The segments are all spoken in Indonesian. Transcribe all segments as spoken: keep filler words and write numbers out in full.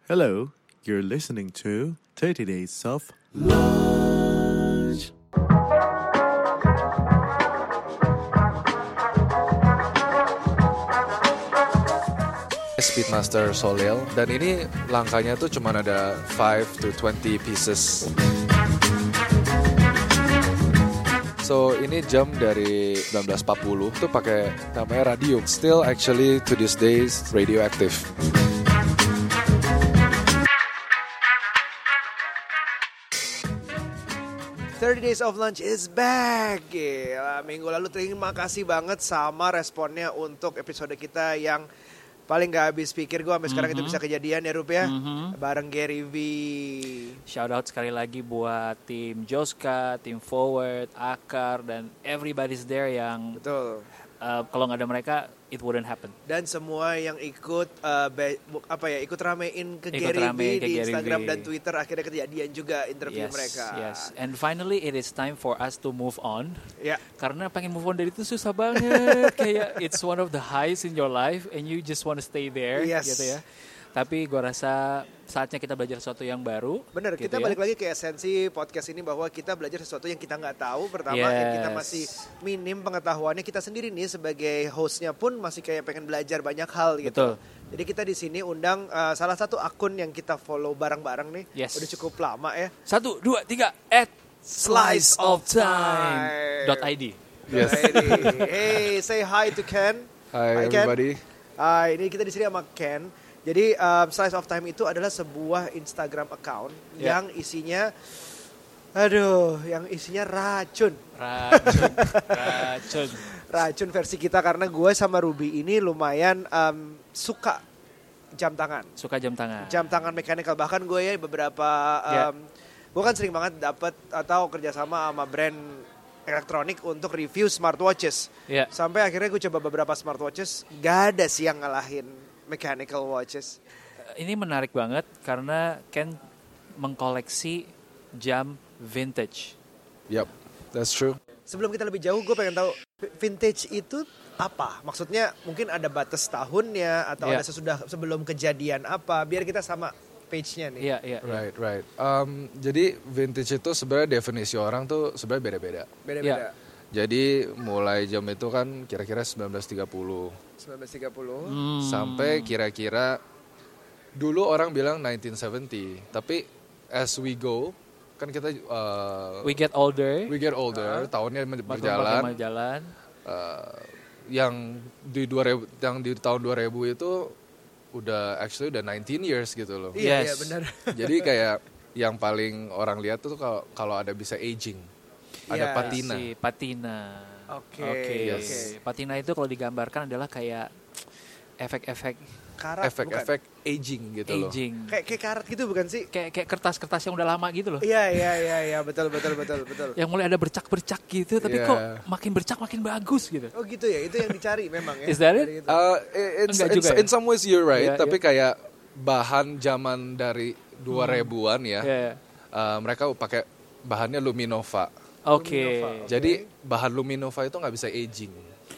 Hello, you're listening to thirty Days of Lunch. Speedmaster Soleil, dan ini langkahnya tuh cuma ada five to twenty pieces. So ini jam dari nineteen forty tuh pakai namanya radium. Still actually to this days radioactive. thirty Days of Lunch is back. Gila, minggu lalu terima kasih banget sama responnya untuk episode kita yang paling gak habis pikir gue sampai sekarang mm-hmm. itu bisa kejadian ya Rup ya. Mm-hmm. Bareng Gary V. Shout out sekali lagi buat tim Joska, tim Forward, Akar, dan everybody's there yang betul. Uh, kalau nggak ada mereka, it wouldn't happen. Dan semua yang ikut uh, be, apa ya ikut ramein ke ikut Gary rame V ke di Gary Instagram V. dan Twitter, akhirnya kejadian juga interview yes, mereka. Yes, and finally it is time for us to move on. Ya. Yeah. Karena pengen move on dari itu susah banget. Kayak it's one of the highs in your life and you just want to stay there, yes. gitu ya. Tapi gue rasa saatnya kita belajar sesuatu yang baru. Bener, gitu kita ya. balik lagi ke esensi podcast ini bahwa kita belajar sesuatu yang kita nggak tahu. Pertama, yes. yang kita masih minim pengetahuannya. Kita sendiri nih sebagai hostnya pun masih kayak pengen belajar banyak hal gitu. Betul. Jadi kita di sini undang uh, salah satu akun yang kita follow bareng-bareng nih. Yes. Udah cukup lama ya. Satu, dua, tiga, at slice of time dot id. Yes. Hey, say hi to Ken. Hi, hi Ken. everybody. Hai, ini kita di sini sama Ken. Jadi um, Slice of Time itu adalah sebuah Instagram account yeah. yang isinya, aduh, yang isinya racun. Racun, racun. Racun versi kita karena gue sama Ruby ini lumayan um, suka jam tangan. Suka jam tangan. Jam tangan mechanical, bahkan gue ya beberapa, um, yeah. gue kan sering banget dapat atau kerjasama sama brand elektronik untuk review smartwatches. Yeah. Sampai akhirnya gue coba beberapa smartwatches, gak ada sih yang ngalahin mechanical watches. Ini menarik banget karena Ken mengkoleksi jam vintage. Yep, that's true. Sebelum kita lebih jauh, gue pengen tahu vintage itu apa? Maksudnya mungkin ada batas tahunnya atau yeah. ada sesudah sebelum kejadian apa? Biar kita sama page-nya nih. Iya, iya. Right, right. Um, jadi vintage itu sebenarnya definisi orang tuh sebenarnya beda-beda. Beda-beda. Yeah. Jadi mulai jam itu kan kira-kira nineteen thirty. nineteen thirty. Hmm. Sampai kira-kira dulu orang bilang nineteen seventy, tapi as we go kan kita uh, we get older, we get older, uh, tahunnya berjalan. berjalan. Uh, yang di dua ribu, yang di tahun dua ribu itu udah actually udah nineteen years gitu loh. Iya, yes. iya benar. Jadi kayak yang paling orang lihat tuh kalau kalau ada bisa aging. Ada yes. patina. Si patina. Oke. Okay. Okay. Yes. Okay. Patina itu kalau digambarkan adalah kayak efek-efek karat, efek-efek bukan? Aging gitu aging. loh. Kayak kayak karat gitu bukan sih? Kayak kayak kertas-kertas yang udah lama gitu loh. Iya iya iya iya betul betul betul betul. Yang mulai ada bercak-bercak gitu, tapi yeah. kok makin bercak makin bagus gitu. Oh gitu ya, itu yang dicari memang ya. Is that it? Uh, it's, it's, juga, in ya? some ways you're right, yeah, tapi yeah. kayak bahan zaman dari dua ribuan ya, yeah. uh, mereka pakai bahannya Luminova. Oke. Okay. Okay. Jadi bahan Luminova itu nggak bisa aging.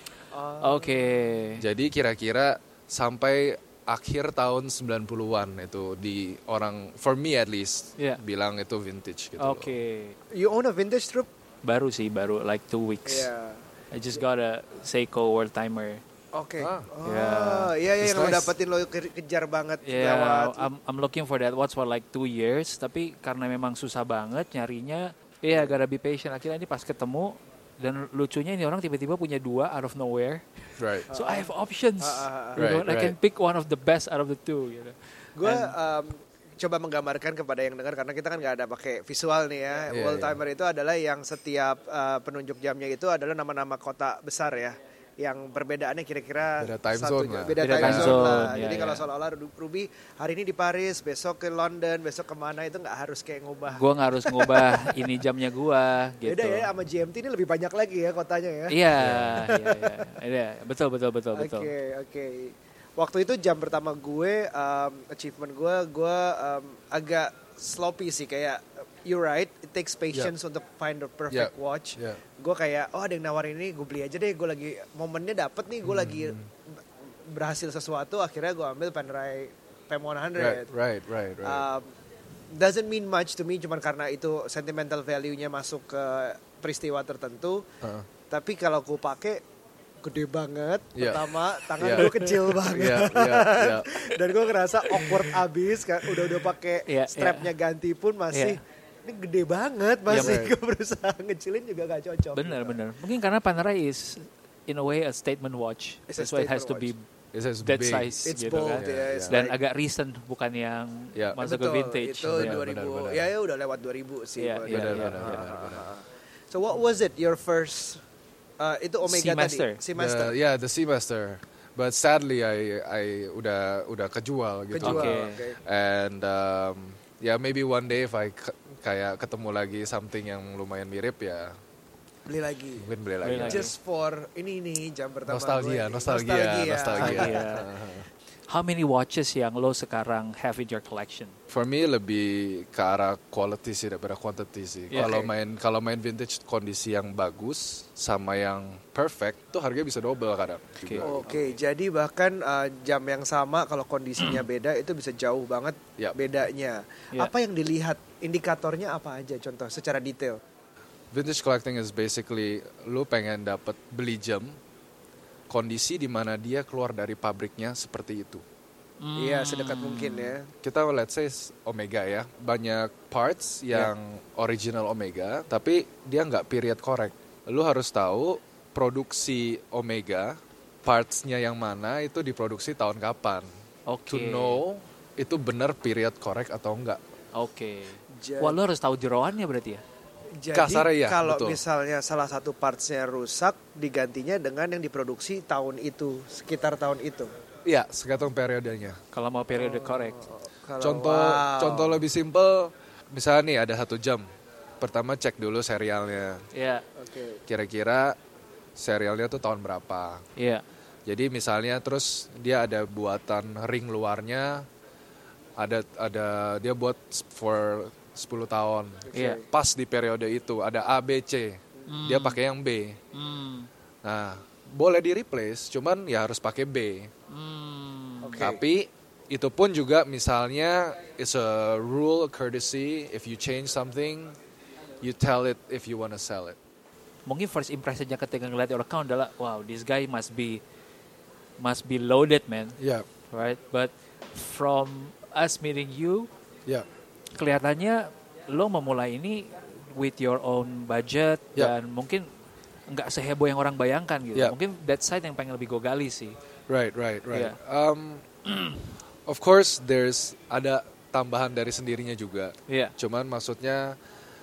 Uh, Oke. Okay. Jadi kira-kira sampai akhir tahun sembilan puluhan itu di orang, for me at least, yeah. bilang itu vintage gitu. Oke. Okay. You own a vintage troop? Baru sih, baru like two weeks. Yeah. I just got a Seiko World Timer. Oke. Okay. Ah. Oh, yeah. iya yeah, yang nice. lo dapetin lo kejar banget yeah, lewat. I'm, I'm looking for that watch for like two years. Tapi karena memang susah banget nyarinya, iya yeah, gotta be patient. Akhirnya ini pas ketemu, dan lucunya ini orang tiba-tiba punya dua out of nowhere. Right. So I have options. Uh, uh, uh, you know, right, I can right. pick one of the best out of the two. You know. Gue um, coba menggambarkan kepada yang dengar karena kita kan nggak ada pakai visual nih ya. Yeah, World yeah. Timer itu adalah yang setiap uh, penunjuk jamnya itu adalah nama-nama kota besar ya. Yang perbedaannya kira-kira Beda time satu zone lah. Beda, Beda time, time zone, zone, lah. ya, Jadi ya. kalau seolah-olah Ruby hari ini di Paris, besok ke London, besok kemana itu nggak harus kayak ngubah. Gue nggak harus ngubah ini jamnya gue. Gitu. Beda ya sama G M T ini lebih banyak lagi ya kotanya ya. Iya, iya, iya. Betul, betul, betul, betul. Oke, okay, oke. Okay. Waktu itu jam pertama gue, um, achievement gue, gue um, agak sloppy sih kayak. You're right, it takes patience yeah. untuk find the perfect yeah. watch. Yeah. Gue kayak, oh ada yang nawarin ini, gue beli aja deh. Gue lagi momennya dapet nih, gue hmm. lagi berhasil sesuatu. Akhirnya gue ambil Panerai P M one Right, hundred. right, right, right. Um, doesn't mean much to me, cuman karena itu sentimental value-nya masuk ke peristiwa tertentu. Uh. Tapi kalau aku pakai gede banget, Yeah. pertama tangan Yeah. gue kecil banget. Yeah, yeah, yeah. Dan gue ngerasa awkward abis, kan udah udah pakai Yeah, strapnya ganti pun masih Yeah. ini gede banget, masih Yeah. gue berusaha ngecilin juga gak cocok. Bener gitu. bener. Mungkin karena Panerai is in a way a statement watch. It's a That's why it has to statement be It says that big. size It's gitu bold, kan. yeah, it's Dan like- agak recent bukan yang Yeah. masuk ke Betul, vintage. itu Benar, dua ribu. benar, benar. Ya ya udah lewat dua ribu sih. Iya, gua iya, dengar. iya, Ah, iya, ah, ah. So what was it your first uh, itu Omega Seamaster. tadi? Seamaster. The, yeah, the Seamaster. But sadly, I I udah udah kejual gitu. Kejual, Oke. oke. And um, yeah, maybe one day if I k- kayak ketemu lagi something yang lumayan mirip ya, Beli lagi. mungkin beli lagi. Beli lagi. Just for ini nih jam pertama Nostalgia, gue nih. nostalgia, nostalgia. Iya. How many watches yang lo sekarang have in your collection? For me lebih ke arah quality sih daripada quantity sih. Yeah. Kalau Okay. main kalau main vintage kondisi yang bagus sama yang perfect, tuh harganya bisa double kadang. Oke. juga. Oke, jadi bahkan uh, jam yang sama kalau kondisinya beda itu bisa jauh banget Yap. bedanya. Ya. Apa yang dilihat? Indikatornya apa aja? Contoh secara detail. Vintage collecting is basically lu pengen dapat beli jam kondisi di mana dia keluar dari pabriknya seperti itu. Iya, sedekat mungkin ya. Kita let's say Omega ya, banyak parts yang original Omega, tapi dia nggak period correct. Lu harus tahu produksi Omega, parts-nya yang mana itu diproduksi tahun kapan. Oke. To know itu benar period correct atau enggak. Oke. Jadi- Wah, lo harus tahu jeroannya berarti ya? Jadi Kasarnya ya, kalau betul. misalnya salah satu partsnya rusak, digantinya dengan yang diproduksi tahun itu, sekitar tahun itu. Iya, sekitar periodenya. Kalau mau periode correct. Kalau- Contoh wow. contoh lebih simple, misalnya nih ada satu jam. Pertama cek dulu serialnya. Iya. Oke. Kira-kira serialnya tuh tahun berapa. Iya. Jadi misalnya terus dia ada buatan ring luarnya, ada ada dia buat for sepuluh tahun. Iya. Pas di periode itu ada A, B, C. Dia pakai yang B. Hmm. Nah, boleh di replace, cuman ya harus pakai B. Hmm. Oke. Tapi itu pun juga misalnya it's a rule, a courtesy. If you change something, you tell it if you wanna sell it. Mungkin first impressionnya ketika ngeliat your account adalah, wow, this guy must be must be loaded, man, Yeah, right? But from us meeting you, yeah, kelihatannya lo memulai ini with your own budget Ya. dan mungkin nggak seheboh yang orang bayangkan gitu. Ya. Mungkin that side yang pengen lebih gue gali sih. right, right, right. Yeah. Um, of course, there's ada tambahan dari sendirinya juga. Iya. Cuman maksudnya,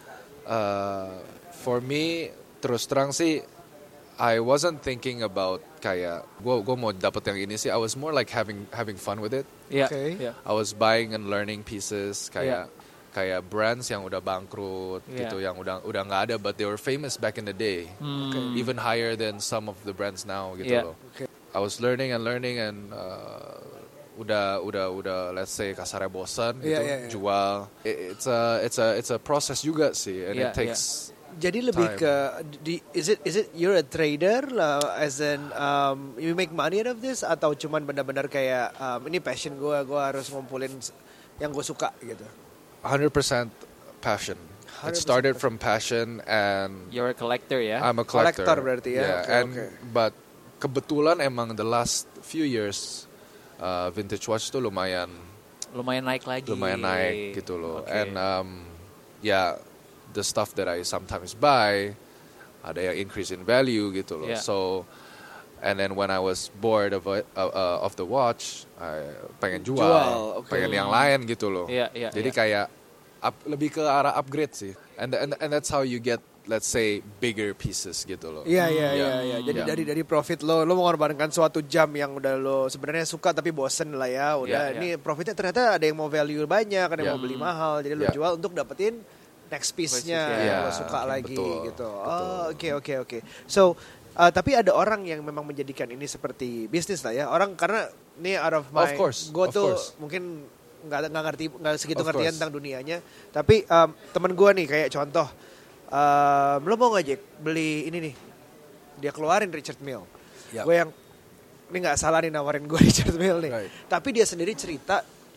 uh, for me terus terang sih, I wasn't thinking about kayak gue gue mau dapet yang ini sih. I was more like having having fun with it. Iya. Oke. Iya. I was buying and learning pieces kayak kayak brands yang udah bangkrut Yeah. gitu, yang udah udah nggak ada, but they were famous back in the day, Hmm. even higher than some of the brands now gitu Yeah. loh. Oke. I was learning and learning and uh, udah udah udah let's say kasarnya bosan gitu, Yeah, yeah, yeah. jual. It- It's a it's a it's a process juga sih, and Yeah, it takes. Jadi lebih Time. ke di, is it is it you're a trader lah, as in um, you make money out of this atau cuman benar-benar kayak um, ini passion gue, gue harus ngumpulin s- yang gue suka gitu. one hundred percent passion. one hundred percent It started from passion, and You're a collector ya. I'm a collector. Collector berarti ya? Yeah, Oke, and oke. but kebetulan emang the last few years uh, vintage watch tuh lumayan Lumayan naik lagi. lumayan naik gitu loh. Oke. And um, yeah, the stuff that I sometimes buy ada yang increase in value gitu loh. Yeah. So and then when I was bored of it, uh, uh, of the watch, I pengen jual, Jual, oke. pengen yang lain gitu loh. Iya, iya, Jadi iya. kayak up, lebih ke arah upgrade sih. And, and and that's how you get, let's say, bigger pieces gitu loh. Iya iya Yeah. iya iya. Jadi Yeah. dari dari profit lo, lo mengorbankan suatu jam yang udah lo sebenarnya suka tapi bosen lah ya. Udah Yeah, ini profitnya ternyata ada yang mau value banyak, ada yang Yeah. mau beli mahal. Jadi lo Yeah. jual untuk dapetin next piece-nya Next yang piece, yeah. lo suka Yeah, lagi betul, gitu. betul. Oh oke oke oke. So uh, tapi ada orang yang memang menjadikan ini seperti bisnis lah ya. Orang karena ini out of my, Of course, gue of tuh course. mungkin nggak nggak ngerti nggak segitu Of ngertian course. tentang dunianya. Tapi um, temen gue nih kayak contoh, um, lo mau nggak Jack beli ini nih? Dia keluarin Richard Mille. Yap. Gue yang ini nggak salah nih nawarin gue Richard Mille nih. Right. Tapi dia sendiri cerita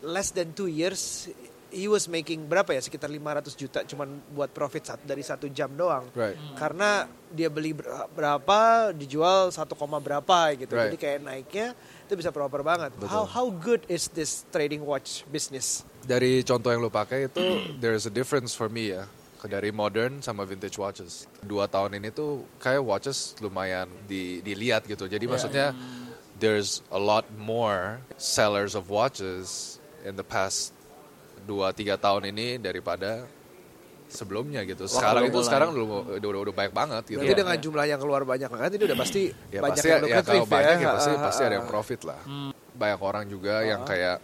less than two years he was making berapa ya, sekitar lima ratus juta cuman buat profit satu, dari satu jam doang. Right. Karena dia beli ber- berapa, dijual satu koma berapa gitu. Right. Jadi kayak naiknya itu bisa proper banget. Betul. How how good is this trading watch business? Dari contoh yang lo pakai itu, there's a difference for me ya. Dari modern sama vintage watches. Dua tahun ini tuh kayak watches lumayan di, dilihat gitu. Jadi Yeah. maksudnya there's a lot more sellers of watches in the past dua tiga tahun ini daripada sebelumnya gitu. Sekarang Waktu itu mulai. sekarang udah, udah, udah, udah banyak banget gitu. Berarti Iya, dengan iya. jumlah yang keluar banyak banget ini udah pasti Ya banyak pasti yang ya, lucrative kalau banyak ya, ya. pasti, Ah, pasti ah, ada yang ah. profit lah. Banyak orang juga yang kayak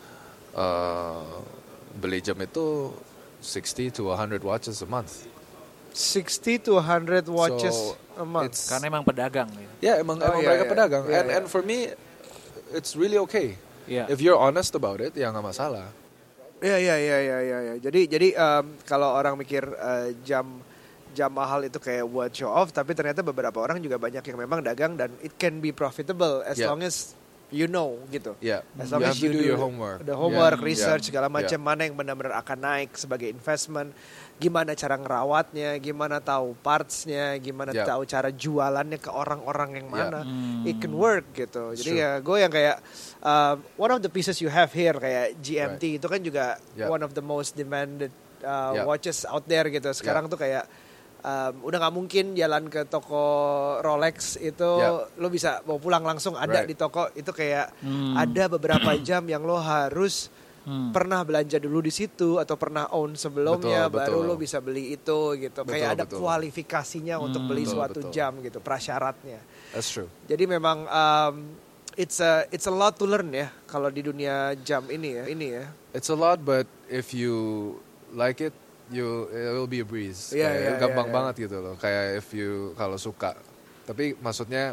uh, beli jam itu sixty to one hundred watches a month. sixty to one hundred watches So, a month. it's- Karena emang pedagang. Gitu. Ya emang, Oh, emang iya, mereka iya. pedagang. Iya, and iya. and for me, it's really okay. Iya. If you're honest about it, ya nggak masalah. Iya iya iya iya iya. Ya. Jadi jadi um, kalau orang mikir uh, jam jam mahal itu kayak buat show off, tapi ternyata beberapa orang juga banyak yang memang dagang dan it can be profitable as Yeah. long as you know gitu. Yeah, As you long have as to you do do your homework. The homework, Yeah. research Yeah. segala macam, Yeah. mana yang benar-benar akan naik sebagai investment, gimana cara ngerawatnya, gimana tahu partsnya, gimana Yeah. tahu cara jualannya ke orang-orang yang Yeah. mana, Hmm. it can work gitu. Jadi True. ya gue yang kayak um, one of the pieces you have here kayak G M T itu kan juga Yeah. one of the most demanded uh, Yeah. watches out there gitu. Sekarang tuh kayak um, udah nggak mungkin jalan ke toko Rolex itu Yeah. lo bisa bawa pulang langsung ada Right. di toko itu kayak Hmm. ada beberapa jam yang lo harus Hmm. pernah belanja dulu di situ atau pernah own sebelumnya Betul, baru betul. lo bisa beli itu gitu. Betul, kayak ada betul. kualifikasinya untuk beli Betul, suatu betul. jam gitu, prasyaratnya. That's true. Jadi memang um, it's a it's a lot to learn ya kalau di dunia jam ini ya, ini ya. It's a lot, but if you like it, you it will be a breeze. Iya, Kayak iya, gampang iya, iya. banget gitu loh. Kayak if you kalau suka. Tapi maksudnya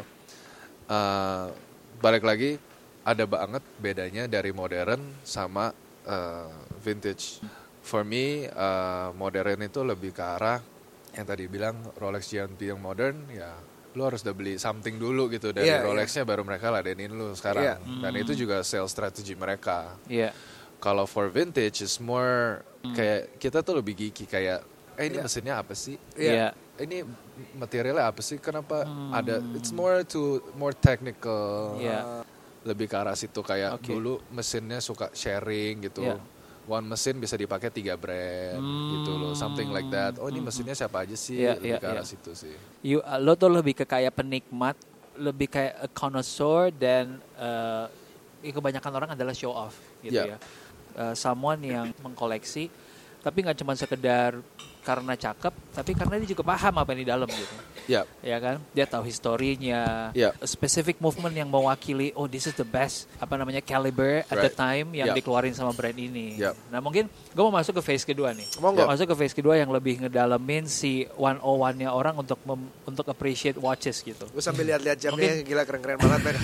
uh, balik lagi ada banget bedanya dari modern sama uh, vintage. For me, uh, modern itu lebih ke arah yang tadi bilang Rolex G M T yang modern, ya lu harus udah beli something dulu gitu dari Iya, iya. Rolexnya baru mereka ladenin lu sekarang. Iya. Dan itu juga sales strategy mereka. Iya. Kalau for vintage is more kayak kita tuh lebih geeky kayak eh ini Iya. mesinnya apa sih? Iya. Ini materialnya apa sih? Kenapa ada? It's more to more technical. Iya. Lebih ke arah situ kayak Oke. dulu mesinnya suka sharing gitu. Iya. One mesin bisa dipakai tiga brand gitu loh, something like that. Oh ini mesinnya siapa aja sih? Iya, Lebih iya, ke arah iya. situ sih. You, uh, lo tuh lebih ke kayak penikmat, lebih kayak a connoisseur dan uh, ya kebanyakan orang adalah show off gitu Yeah. ya. Uh, someone yang mengkoleksi, tapi nggak cuma sekedar karena cakep, tapi karena dia juga paham apa yang di dalam gitu. Ya, Ya kan, dia tahu historinya, Yeah. a specific movement yang mewakili, oh this is the best, apa namanya caliber at the Right. time yang Yeah. dikeluarin sama brand ini. Yeah. Nah mungkin gue mau masuk ke phase kedua nih. Monggo. Masuk ke phase kedua yang lebih ngedalamin si one oh one-nya orang untuk mem- untuk appreciate watches gitu. Gue sambil lihat-lihat jamnya gila keren-keren banget men.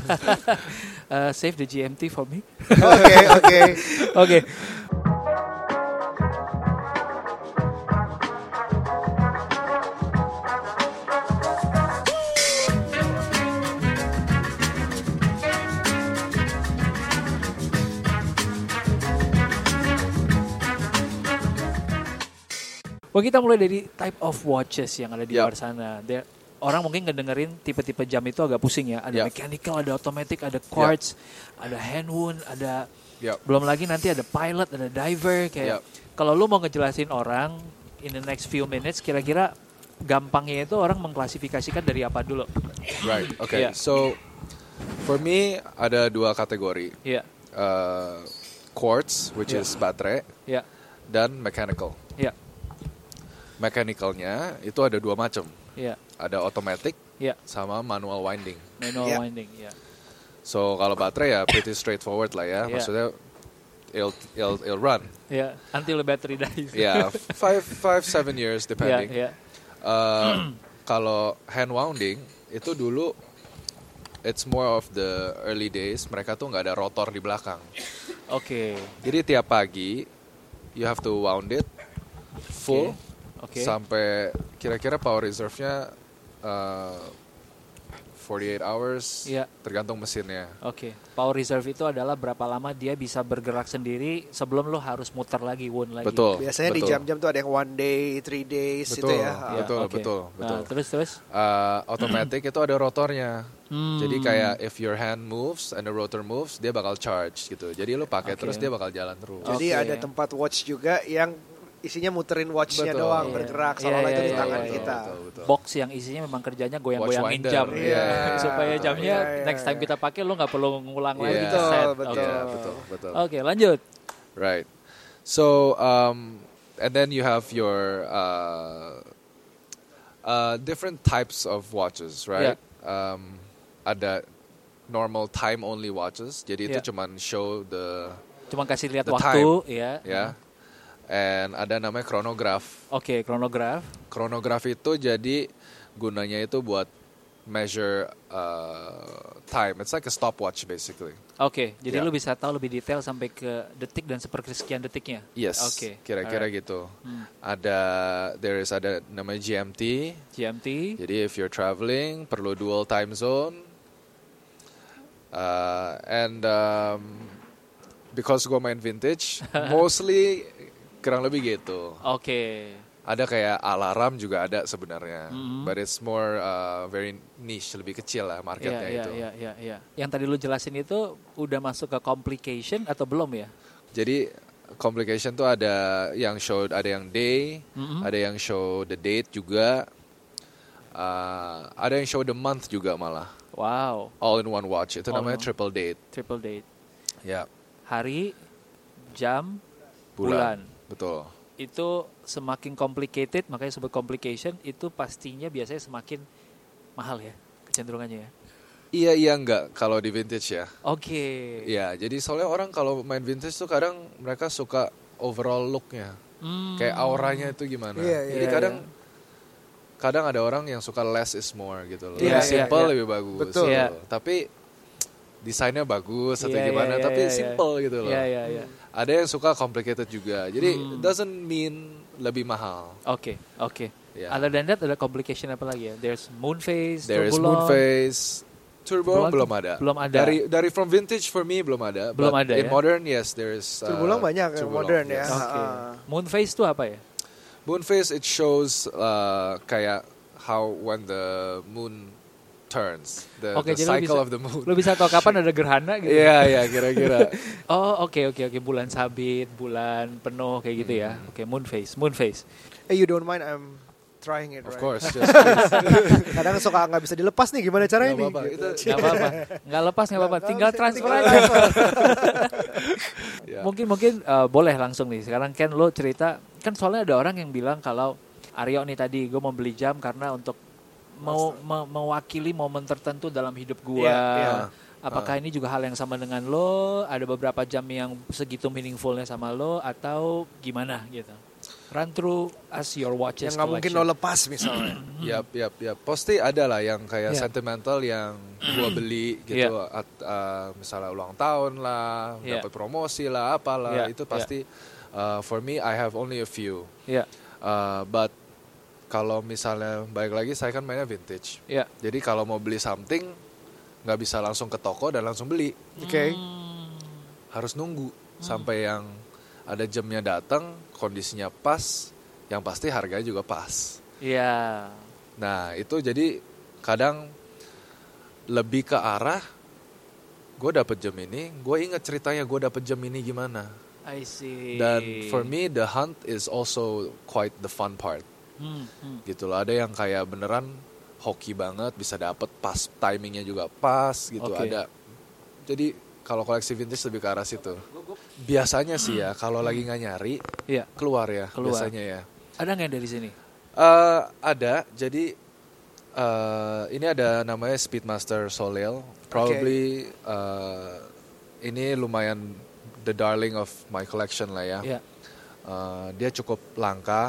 Uh, save the G M T for me. Oke oke. Oke. Well, kita mulai dari type of watches yang ada di Yep. luar sana. There- orang mungkin ngedengerin tipe-tipe jam itu agak pusing ya. Ada Yep. mechanical, ada automatic, ada quartz, ada hand wound, ada Yep. belum lagi nanti ada pilot, ada diver. Kayak Yep. kalau lu mau ngejelasin orang in the next few minutes, kira-kira gampangnya itu orang mengklasifikasikan dari apa dulu? right. Okay. Yeah. So for me ada dua kategori. Iya, Uh, quartz, which Yeah. is baterai, iya, dan mechanical. iya, Mechanicalnya itu ada dua macam. iya, Ada automatic iya. sama manual winding. Manual Yeah. winding, iya. So kalau baterai ya pretty straightforward lah ya. Yeah. Maksudnya it'll, it'll, it'll run. Iya, until the battery dies. Ya, five, five, seven years Iya, depending. iya. Uh, kalau hand wounding itu dulu it's more of the early days. Mereka tuh nggak ada rotor di belakang. Oke, Jadi tiap pagi you have to wound it full oke. sampai kira-kira power reserve-nya uh, forty-eight hours, Iya. tergantung mesinnya. Oke, power reserve itu adalah berapa lama dia bisa bergerak sendiri sebelum lo harus muter lagi, wound lagi. Betul. Biasanya di betul. jam-jam tuh ada yang one day, three days Betul, itu ya. Iya, betul, oke. betul, Nah, betul. terus terus. Uh, automatic itu ada rotornya. Hmm. Jadi kayak if your hand moves and the rotor moves, dia bakal charge gitu. Jadi lu pakai Oke. terus dia bakal jalan terus. Jadi Oke. ada tempat watch juga yang isinya muterin watchnya Betul. doang Iya. bergerak Iya, seolah-olah iya, itu di iya, tangan iya, kita. betul, betul. Box yang isinya memang kerjanya goyang-goyangin Watchwinder. jam, Iya. ya. Supaya jamnya Iya, iya, next time iya. kita pakai lo nggak perlu ngulang Iya. lagi Betul, set. betul. Oke. Iya, betul, betul. Oke, lanjut. Right. So, um, and then you have your uh, uh, different types of watches, right? Um, ada normal time only watches. Jadi itu Yeah. cuman show the Cuma kasih lihat The waktu, ya. ya. And ada namanya chronograph. Oke, chronograph. Chronograph itu jadi gunanya itu buat measure uh, time. It's like a stopwatch basically. Oke, jadi Ya. lu bisa tahu lebih detail sampai ke detik dan sepersekian detiknya. Yes. Oke, Kira-kira alright. gitu. Hmm. Ada there is ada namanya G M T. G M T. Jadi if you're traveling perlu dual time zone. Uh, and um, because gue main vintage, mostly kurang lebih gitu. Oke. Ada kayak alarm juga ada sebenarnya, Mhm. but it's more uh, very niche, lebih kecil lah Iya, marketnya iya, itu. iya, iya, iya. Yang tadi lu jelasin itu udah masuk ke complication atau belum ya? Jadi complication tuh ada yang show, ada yang day, Mhm. ada yang show the date juga, uh, ada yang show the month juga malah, Wow, all in one watch. Itu All in namanya one. triple date. triple date. Ya, Hari, jam, bulan. bulan. Betul. Itu semakin complicated, makanya sebut complication, itu pastinya biasanya semakin mahal ya kecenderungannya ya. Iya iya enggak kalau di vintage ya. Oke. Iya, jadi soalnya orang kalau main vintage tuh kadang mereka suka overall looknya, Hmm. kayak auranya itu gimana. Iya, Jadi iya, kadang iya. kadang ada orang yang suka less is more gitu loh. Iya, Lebih simple iya, iya. lebih bagus. Betul. gitu. Iya. Tapi desainnya bagus atau Iya, gimana, iya, iya, tapi iya. simple gitu loh. Iya, iya, iya. Ada yang suka complicated juga. Jadi Hmm. doesn't mean lebih mahal. Oke, oke. Ya. Other than that ada complication apa lagi ya? There's moon phase, There is turbulon. moon phase. Turbulon Turbulon belum ada. belum ada. Dari dari from vintage for me belum ada. Belum But ada in ya? modern yes there is. uh, Turbulon banyak yang turbulon, modern ya. yes. Oke. Ah. Moon phase itu apa ya? Moon phase it shows uh, kayak how when the moon turns, the, Oke, the jadi lu cycle bisa- of the moon. Lu bisa tahu kapan ada gerhana gitu? Iya iya kira-kira. Oh, oke oke oke, bulan sabit, bulan penuh kayak gitu ya. Hmm. Oke, moon phase, moon phase. Eh, you don't mind I'm trying it, Of right? course, just please. Kadang suka nggak bisa dilepas nih, gimana caranya Nggak nih? apa-apa, Gitu. itu- Nggak apa-apa, nggak lepas nggak apa-apa, tinggal transfer Tinggal aja. transfer. Ya. Mungkin mungkin uh, boleh langsung nih. Sekarang Ken lo cerita, kan soalnya ada orang yang bilang kalau Aryo nih tadi gue mau beli jam karena untuk mau me- mewakili momen tertentu dalam hidup gue. Iya, iya. Apakah ini juga hal yang sama dengan lo? Ada beberapa jam yang segitu meaningfulnya sama lo atau gimana gitu? Run through as your watches Yang nggak mungkin lo collection. lepas misalnya. Yap, yap, yap. Pasti ada lah yang kayak Ya. sentimental yang gua beli gitu, at- uh, misalnya ulang tahun lah, Ya. dapat promosi lah, apalah. Ya, Itu ya. pasti. Uh, for me, I have only a few. Iya, Uh, but kalau misalnya balik lagi, saya kan mainnya vintage. iya. Jadi kalau mau beli something, nggak bisa langsung ke toko dan langsung beli. Oke. Harus nunggu sampai yang ada jamnya datang, kondisinya pas, yang pasti harganya juga pas. Iya. Nah itu jadi kadang lebih ke arah gue dapet jam ini, gue inget ceritanya gue dapet jam ini gimana. I see. Dan for me the hunt is also quite the fun part. Hmm, hmm. Gitu loh, ada yang kayak beneran hoki banget, bisa dapet pas, timingnya juga pas gitu. Oke. Ada. Jadi kalau koleksi vintage lebih ke arah situ. Biasanya sih ya kalau lagi nggak nyari Iya. keluar ya Keluar. biasanya ya. Ada nggak yang dari sini? Eh, ada, jadi eh, ini ada namanya Speedmaster Soleil. Probably eh, ini lumayan the darling of my collection lah ya. Iya. Eh, dia cukup langka.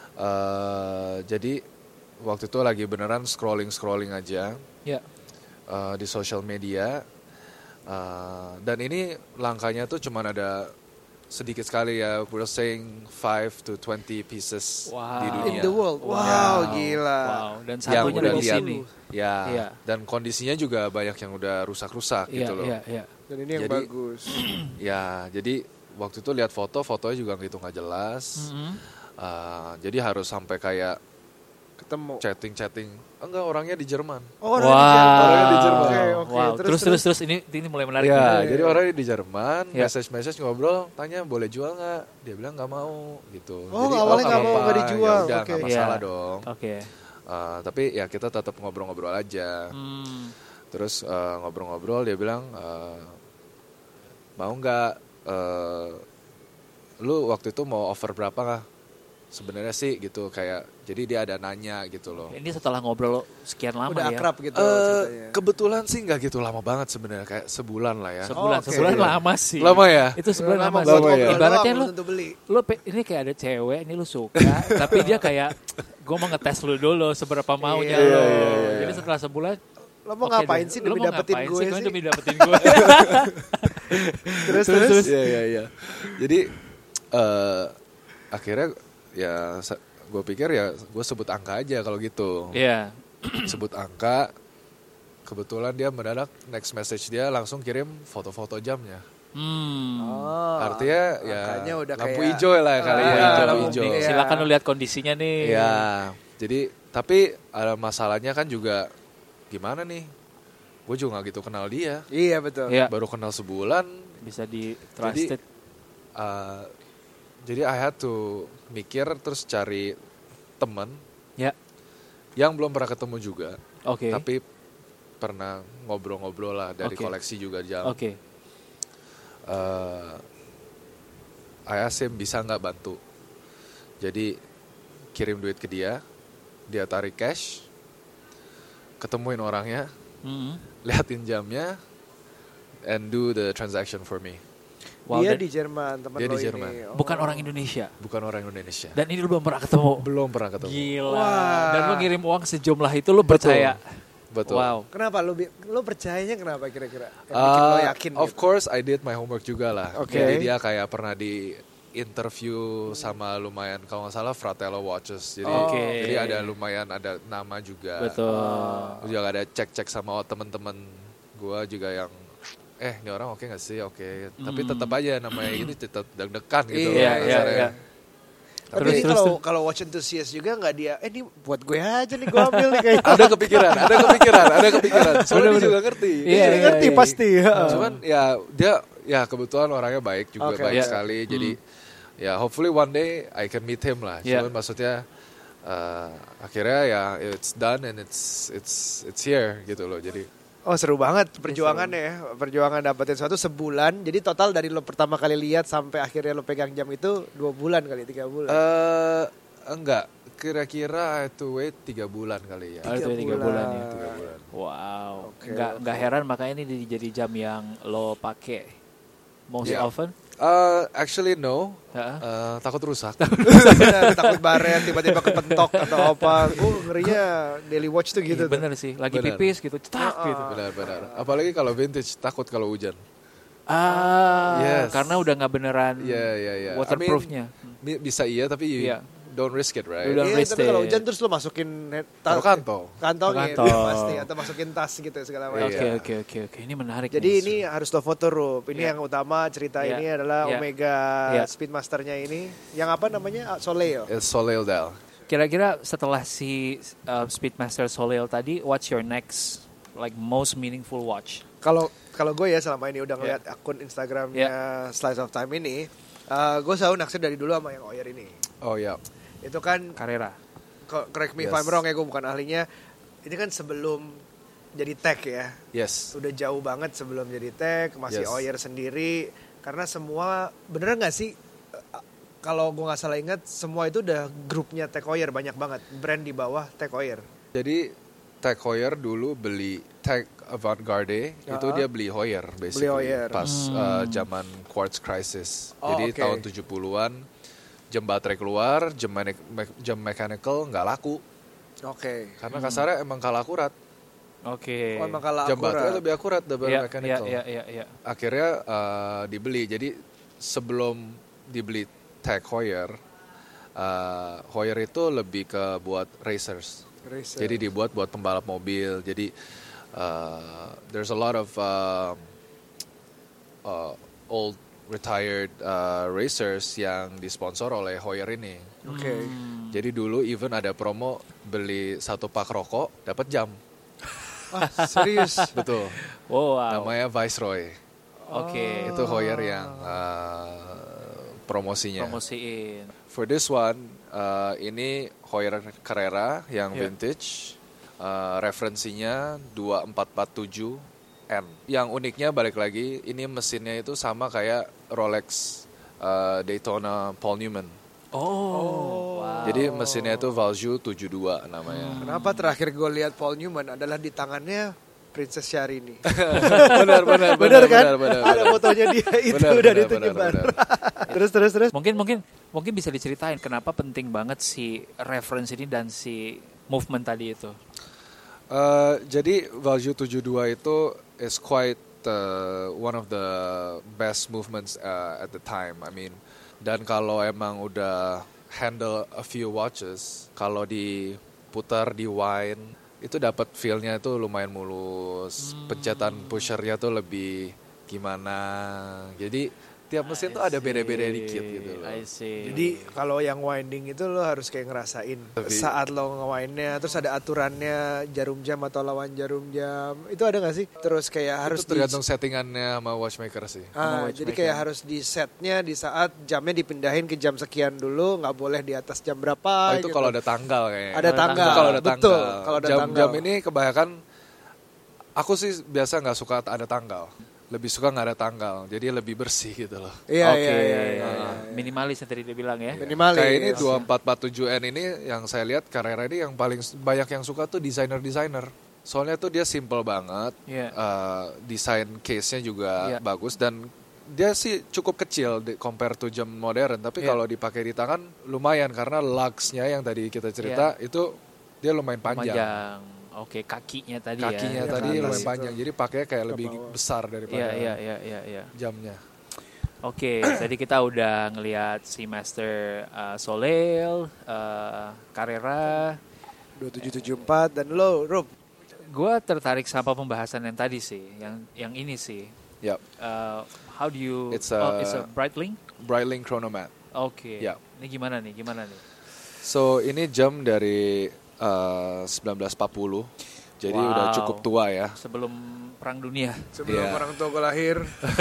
Eh, jadi waktu itu lagi beneran scrolling scrolling aja Iya. eh, di social media. Eh, dan ini langkanya tuh cuman ada sedikit sekali ya, we're saying five to twenty pieces Wow. di In dunia. the world. Wow, Wow. gila. Wow, dan Yang satunya udah di lihat. sini. Ya, Iya. dan kondisinya juga banyak yang udah rusak-rusak Iya, gitu loh. iya, iya. Dan ini yang Jadi- bagus. Ya, jadi waktu itu lihat foto, fotonya juga gitu nggak jelas. Mhm. Uh, jadi harus sampai kayak Ketemu. chatting-chatting. Enggak, orangnya di Jerman. Oh, Wow. orang di Jerman. Orangnya di Jerman. Oke, oke. Wow. Terus, terus, terus, ini, ini mulai menarik. Ya, nih. jadi orangnya di Jerman, Ya. message-message ngobrol, tanya boleh jual nggak? Dia bilang nggak mau gitu. Oh, Jadi, awalnya nggak mau, apa-apa, nggak dijual. Ya udah, Oke. nggak masalah Ya. dong. Oke. Uh, tapi ya kita tetap ngobrol-ngobrol aja. Hmm. Terus uh, ngobrol-ngobrol, dia bilang uh, mau nggak? Uh, lu waktu itu mau offer berapa nggak? Sebenarnya sih gitu kayak. Jadi dia ada nanya gitu loh. Ini setelah ngobrol sekian lama Udah ya. akrab gitu Eh, ceritanya. kebetulan sih nggak gitu lama banget sebenarnya, kayak sebulan lah ya. Sebulan, Oh, oke. sebulan lama sih. Lama ya? Itu sebulan Lama lama, buat sih. Lama ya? ngobrol Ibaratnya doang, lu, belum tentu beli. lu pe- ini kayak ada cewek, ini lu suka, tapi dia kayak, gue mau ngetes lu dulu seberapa maunya Iya, lu. iya, iya, iya. Jadi setelah sebulan, Lo mau oke ngapain deh. sih Lu demi mau dapetin ngapain gue sih? sih? Gue demi dapetin gue. Terus, terus. Iya iya iya. Jadi eh akhirnya ya gue pikir ya gue sebut angka aja kalau gitu. Iya. Sebut angka. Kebetulan dia mendadak next message dia langsung kirim foto-foto jamnya. Hmm. Oh, Artinya ya angkanya udah lampu kayak- hijau lah kali Ah, ya, lampu lampu hijau. hijau. Nih, silakan lu lihat kondisinya nih. Ya, jadi tapi ada masalahnya kan juga gimana nih? Gue juga gak gitu kenal dia. Iya betul. Iya. Baru kenal sebulan. Bisa di trusted. Uh, jadi I had to mikir terus cari temen Ya. yang belum pernah ketemu juga, Oke. tapi pernah ngobrol-ngobrol lah dari Oke. koleksi juga jam. Oke. Uh, I asked him bisa nggak bantu. Jadi kirim duit ke dia, dia tarik cash, ketemuin orangnya, Mhm. liatin jamnya, and do the transaction for me. Wow, Dia dan di Jerman, teman Dia lo di Jerman. ini. Oh. bukan orang Indonesia. Bukan orang Indonesia. Dan ini lu belum pernah ketemu. Belum pernah ketemu. Gila. Wah. Dan lu ngirim uang sejumlah itu lu percaya. Betul. Wow. Kenapa lu bi- lu percayanya kenapa kira-kira? Yang bikin lo Uh, yakin of gitu? course I did my homework juga lah. Oke. Jadi dia kayak pernah di interview sama lumayan kalau nggak salah Fratello Watches. Jadi Oke. jadi ada lumayan ada nama juga. Betul. Terus juga ada cek-cek sama teman-teman gua juga yang eh ini orang oke nggak sih? Oke. Tapi Hmm. tetap aja namanya ini tetap deg-degan gitu. Iya, loh, iya, kasarnya. iya. Tapi Terus, ini terus, kalau terus. kalau watch enthusiast juga nggak dia, eh ini buat gue aja nih gue ambil nih kayaknya. Ada kepikiran, ada kepikiran, ada kepikiran. Soalnya dia juga ngerti. Iya, Dia juga iya, ngerti iya. pasti. ya. Cuman ya dia ya kebetulan orangnya baik juga Oke. baik Ya. sekali. Jadi ya hopefully one day I can meet him lah. Ya. Cuman maksudnya uh, akhirnya ya it's done and it's it's it's here gitu loh. Jadi Oh seru banget perjuangannya ya, perjuangan dapetin sesuatu sebulan. Jadi total dari lo pertama kali lihat sampai akhirnya lo pegang jam itu dua bulan kali, tiga bulan. eh enggak kira-kira I had to wait tiga bulan kali ya. Oh, itu tiga bulan ya. Tiga bulan. Wow. Oke, nggak oke. nggak heran makanya ini jadi jam yang lo pakai most Yeah. often. Uh, actually no, Heeh. Uh, takut rusak. Benar, takut baret tiba-tiba kepentok atau apa. Oh ngerinya daily watch tuh gitu. Iya, tuh. bener sih, lagi Bener. pipis gitu, cetak Ah, gitu. Benar-benar. Apalagi kalau vintage takut kalau hujan. Ah, Yes. karena udah nggak beneran Iya iya iya. waterproofnya. Bi- Bisa iya tapi you Iya. don't risk it right. Udah Iya, risk tapi kalau it. hujan terus lo masukin net- Taruh kantong. kantongin Kantong. pasti atau masukin tas gitu segala macam. Iya. Oke oke oke oke, ini menarik. Jadi nih. ini harus lo foto Rup. Ini Iya. yang utama cerita Iya. ini adalah Iya. Omega Iya. Speedmasternya ini. Yang apa namanya? Ah, Soleil. It's Soleil Dal. Kira-kira setelah si uh, Speedmaster Soleil tadi, what's your next like most meaningful watch? Kalau kalau gue ya selama ini udah Iya. ngeliat akun Instagramnya Slice of Time ini, uh, gue selalu naksir dari dulu sama yang Oyer ini. Oh ya. Itu kan, Carrera. co- correct me if Yes. I'm wrong ya, gue bukan ahlinya. Ini kan sebelum jadi tag ya, Yes. udah jauh banget sebelum jadi tag, masih Yes. Oyer sendiri. Karena semua, bener nggak sih? uh, Kalau gue nggak salah ingat, semua itu udah grupnya Tag Heuer banyak banget, brand di bawah Tag Heuer. Jadi Tag Heuer dulu beli Tag Avant-Garde, itu Ah. dia beli Heuer basically. Heuer. Pas Hmm. uh, zaman Quartz Crisis. Oh, Jadi oke. tahun tujuh puluhan jam baterai keluar, jam, mani- me- jam mechanical nggak laku. Oke. Karena kasarnya emang kalah akurat. Oke. Oh, emang kalah Jam akurat. baterai lebih akurat daripada Iya, iya, mechanical. iya, iya, iya. Akhirnya uh, dibeli. Jadi sebelum dibeli Tag Heuer, uh, Heuer itu lebih ke buat racers. Racer. Jadi dibuat buat pembalap mobil. Jadi uh, there's a lot of uh, uh, old retired uh, racers yang disponsor oleh Heuer ini. Oke. Jadi dulu even ada promo beli satu pak rokok dapat jam. Ah, serius. Betul. Oh, wow. Namanya Viceroy. Oke. Itu Heuer yang uh, promosinya. Promosiin. For this one, uh, ini Heuer Carrera yang Yeah. vintage. Uh, referensinya dua empat empat tujuh N. Yang uniknya balik lagi, ini mesinnya itu sama kayak Rolex uh, Daytona Paul Newman. Oh, wow. Jadi mesinnya itu Valjoux tujuh dua namanya. Kenapa terakhir gue lihat Paul Newman adalah di tangannya Princess Syahrini. benar, benar, Benar kan? benar, benar, Ada benar. fotonya dia itu Benar, udah benar, itu benar, nyebar. benar. Terus terus terus. Mungkin mungkin mungkin bisa diceritain kenapa penting banget si reference ini dan si movement tadi itu. Uh, jadi Valjoux tujuh dua itu is quite uh, one of the best movements uh, at the time. I mean, dan kalau emang udah handle a few watches, kalau diputar di wind itu dapat feel-nya itu lumayan mulus. Hmm. Pencetan pushernya tuh lebih gimana. Jadi tiap mesin tuh ada beda-beda dikit gitu loh. I see. Jadi kalau yang winding itu lo harus kayak ngerasain Tapi- saat lo ngewindnya, terus ada aturannya jarum jam atau lawan jarum jam. Itu ada nggak sih? Terus kayak harus Itu tergantung settingannya sama watchmaker sih. Ah, Sama jadi watchmaker. kayak harus di setnya di saat jamnya dipindahin ke jam sekian dulu, nggak boleh di atas jam berapa. Oh, itu gitu. kalau ada tanggal kayaknya. Ada Kalau tanggal. Itu kalau ada Betul, tanggal. kalau ada jam, tanggal. Jam ini kebanyakan aku sih biasa nggak suka ada tanggal. Lebih suka nggak ada tanggal. Jadi lebih bersih gitu loh. Iya, Oke, iya, iya, iya, ah, iya. minimalis yang tadi dia bilang ya. Minimalis. Kayak ini dua empat empat tujuh N ini yang saya lihat Carrera ini yang paling banyak yang suka tuh desainer-desainer. Soalnya tuh dia simple banget. Iya. Uh, desain case-nya juga Iya. bagus dan dia sih cukup kecil di, compare to jam modern. Tapi Iya. kalau dipakai di tangan lumayan karena lugs-nya yang tadi kita cerita itu dia lumayan panjang. Panjang. Oke, kakinya tadi Kakinya ya. tadi Iya, lumayan itu. panjang. Jadi pakainya kayak Ke lebih bawah. besar daripada Iya, iya, iya, iya, iya. jamnya. Oke, tadi kita udah ngelihat si Master uh, Soleil, uh, Carrera. dua tujuh tujuh empat dan lo, Rob. Gue tertarik sama pembahasan yang tadi sih, yang yang ini sih. Yap. Uh, how do you? It's oh, a- it's a Breitling. Breitling Chronomat. Oke. Ya. Ini gimana nih? Gimana nih? So ini jam dari uh, sembilan belas empat puluh. Jadi Wow. udah cukup tua ya. Sebelum Perang Dunia. Sebelum Iya. orang tua gue lahir.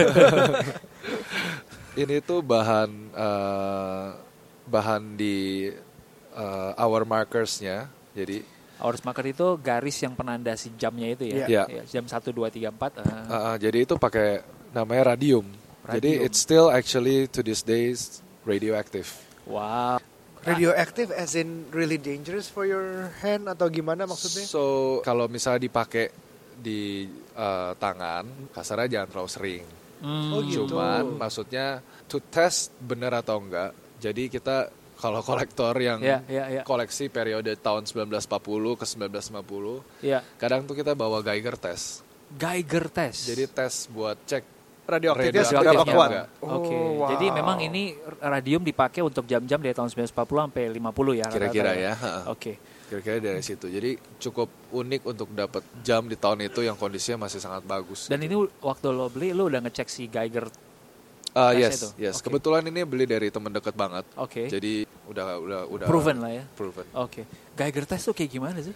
Ini tuh bahan uh, bahan di uh, hour markersnya. Jadi Hours marker itu garis yang penanda si jamnya itu ya. Iya. Ya, jam satu, dua, tiga, empat. uh, uh, jadi itu pakai namanya radium. Jadi Radium. it's still actually to this days radioactive. Wow. Radioactive as in really dangerous for your hand atau gimana maksudnya? So kalau misalnya dipakai di uh, tangan, kasarnya jangan terlalu sering. Hmm. Oh, gitu. Cuman maksudnya to test bener atau enggak. Jadi kita kalau kolektor yang Ya, ya, ya. koleksi periode tahun sembilan belas empat puluh ke sembilan belas lima puluh, Ya. kadang tuh kita bawa Geiger test. Geiger test. Jadi tes buat cek Radioaktifnya Radioaktif seberapa ya, kuat? enggak. Oke, Oh, wow. jadi memang ini radium dipakai untuk jam-jam dari tahun sembilan belas empat puluh sampai lima puluh ya. rata-rata kira-kira ya. ha. Oke. Kira-kira dari situ. Jadi cukup unik untuk dapat jam di tahun itu yang kondisinya masih sangat bagus. Dan gitu. ini waktu lo beli, lo udah ngecek si Geiger. Uh, tesnya yes, itu? yes. Oke. Kebetulan ini beli dari temen deket banget. Oke. Jadi udah udah udah Proven lah ya. Proven. Oke. Geiger test tuh kayak gimana sih?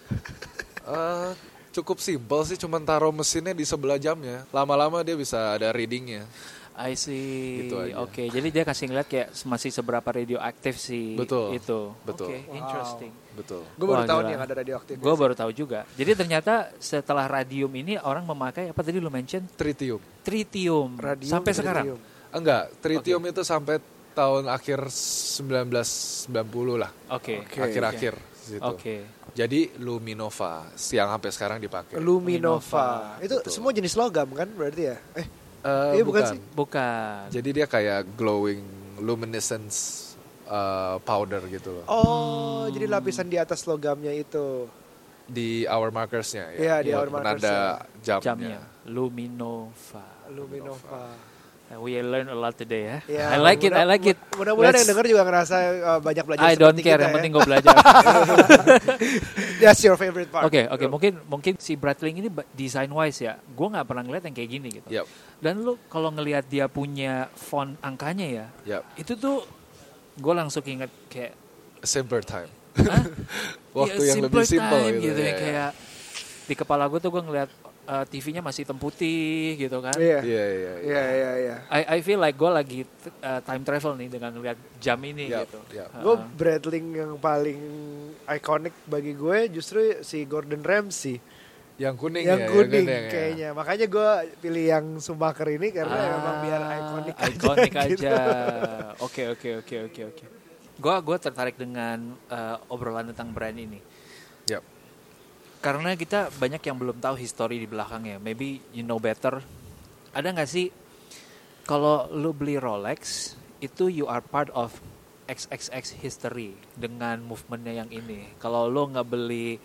Eh, cukup simpel sih, cuman taruh mesinnya di sebelah jamnya. Lama-lama dia bisa ada readingnya. I see. Gitu aja. Oke, jadi dia kasih ngeliat kayak masih seberapa radioaktif si Betul. itu. Betul. Oke, Wow. interesting. Betul. Gue baru Wah, tahu gila. nih yang ada radioaktif. Gue baru tahu juga. Jadi ternyata setelah radium ini orang memakai apa tadi lu mention? Tritium. Tritium. Radium, Sampai tritium. sekarang. Enggak, tritium itu sampai tahun akhir sembilan belas sembilan puluh lah. Oke. Oke. Akhir-akhir situ. Oke. Jadi Luminova yang sampai sekarang dipakai. Luminova. Itu Betul. semua jenis logam kan berarti ya? Eh, Eh, Iya, bukan sih? Bukan. Jadi dia kayak glowing luminescence uh, powder gitu loh. oh, jadi lapisan di atas logamnya itu. Di hour markersnya ya. Iya, di buat hour markersnya. menanda jamnya. Jamnya Luminova. Luminova. We learn a lot today ya. Ya, I like it, I mudah- like it. Mudah-mudahan Let's- yang denger juga ngerasa uh, banyak belajar I don't seperti care, kita yang ya. penting gue belajar. That's your favorite part. Oke, oke, mungkin mungkin si Breitling ini design wise ya, gue nggak pernah ngeliat yang kayak gini gitu. Yep. Dan lu kalau ngelihat dia punya font angkanya ya, Yep. itu tuh gue langsung inget kayak, Simpler time. Hah? Waktu Ya, yang simpler lebih simple time gitu, gitu ya, ya, ya. kayak di kepala gue tuh gue ngeliat uh, T V-nya masih hitam putih gitu kan. Iya. Iya, iya, iya. Iya, iya, iya. I I feel like gue lagi uh, time travel nih dengan ngeliat jam ini Yap, gitu. yap. Uh, Gue Breitling yang paling iconic bagi gue justru si Gordon Ramsay. Yang kuning yang ya, kuning yang kuning ya. kayaknya. Makanya gue pilih yang Schumacher ini karena Ah, emang biar iconic aja. iconic gitu. aja. Oke, oke, oke, oke, oke. Gue gue tertarik dengan uh, obrolan tentang brand ini. Yap. Karena kita banyak yang belum tahu history di belakangnya. Maybe you know better. Ada nggak sih kalau lu beli Rolex itu you are part of X X X history dengan movementnya yang ini. Kalau lu nggak beli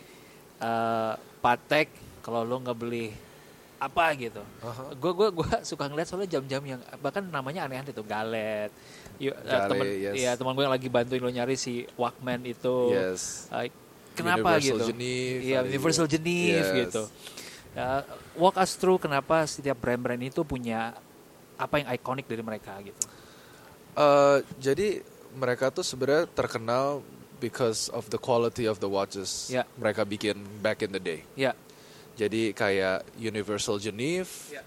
uh, Patek, kalau lu nggak beli apa gitu. Gue gue gue suka ngeliat soalnya jam-jam yang bahkan namanya aneh-aneh tuh Galet. Yuk, uh, Gale, temen, yes. ya teman gue yang lagi bantuin lo nyari si Walkman itu. Yes. Uh, kenapa Universal gitu? Genève, Iya, ada Universal juga. Genève Yes. gitu. Uh, walk us through kenapa setiap brand-brand itu punya apa yang ikonik dari mereka gitu. Uh, jadi mereka tuh sebenarnya terkenal because of the quality of the watches Ya. mereka bikin back in the day. Ya, Jadi kayak Universal Genève, Ya.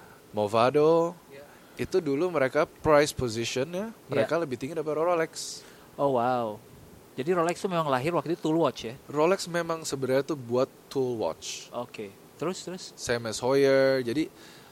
Movado, Ya. itu dulu mereka price positionnya mereka lebih tinggi daripada Rolex. oh wow. Jadi Rolex tuh memang lahir waktu itu tool watch ya. Rolex memang sebenarnya tuh buat tool watch, Oke. Terus terus. same as Heuer. Jadi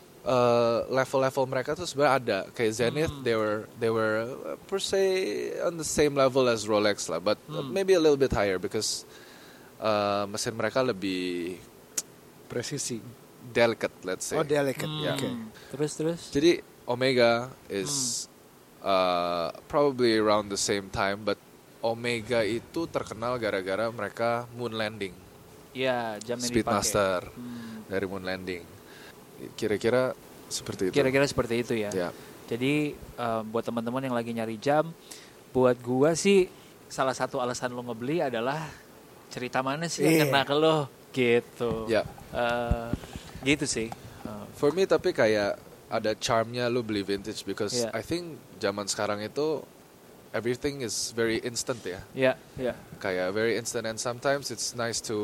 uh, level-level mereka tuh sebenarnya ada. Kayak Zenith, Hmm. they were they were uh, per se on the same level as Rolex lah, but uh, Hmm. maybe a little bit higher because uh, mesin mereka lebih Presisi. delicate, let's say. Oh, delicate. Hmm. Ya. Oke. Terus terus. Jadi Omega is Hmm. uh, probably around the same time, but Omega itu terkenal gara-gara mereka moon landing, Iya, jam yang dipakai. Speedmaster Hmm. dari moon landing. Kira-kira seperti itu. Kira-kira seperti itu ya. Ya. Jadi um, buat teman-teman yang lagi nyari jam, buat gua sih salah satu alasan lo ngebeli adalah cerita mana sih yang Iya. kena ke lo gitu. Ya. Eh, gitu sih. Uh, For me tapi kayak ada charmnya lu beli vintage because Yeah. I think zaman sekarang itu everything is very instant ya. ya, ya. Kayak very instant and sometimes it's nice to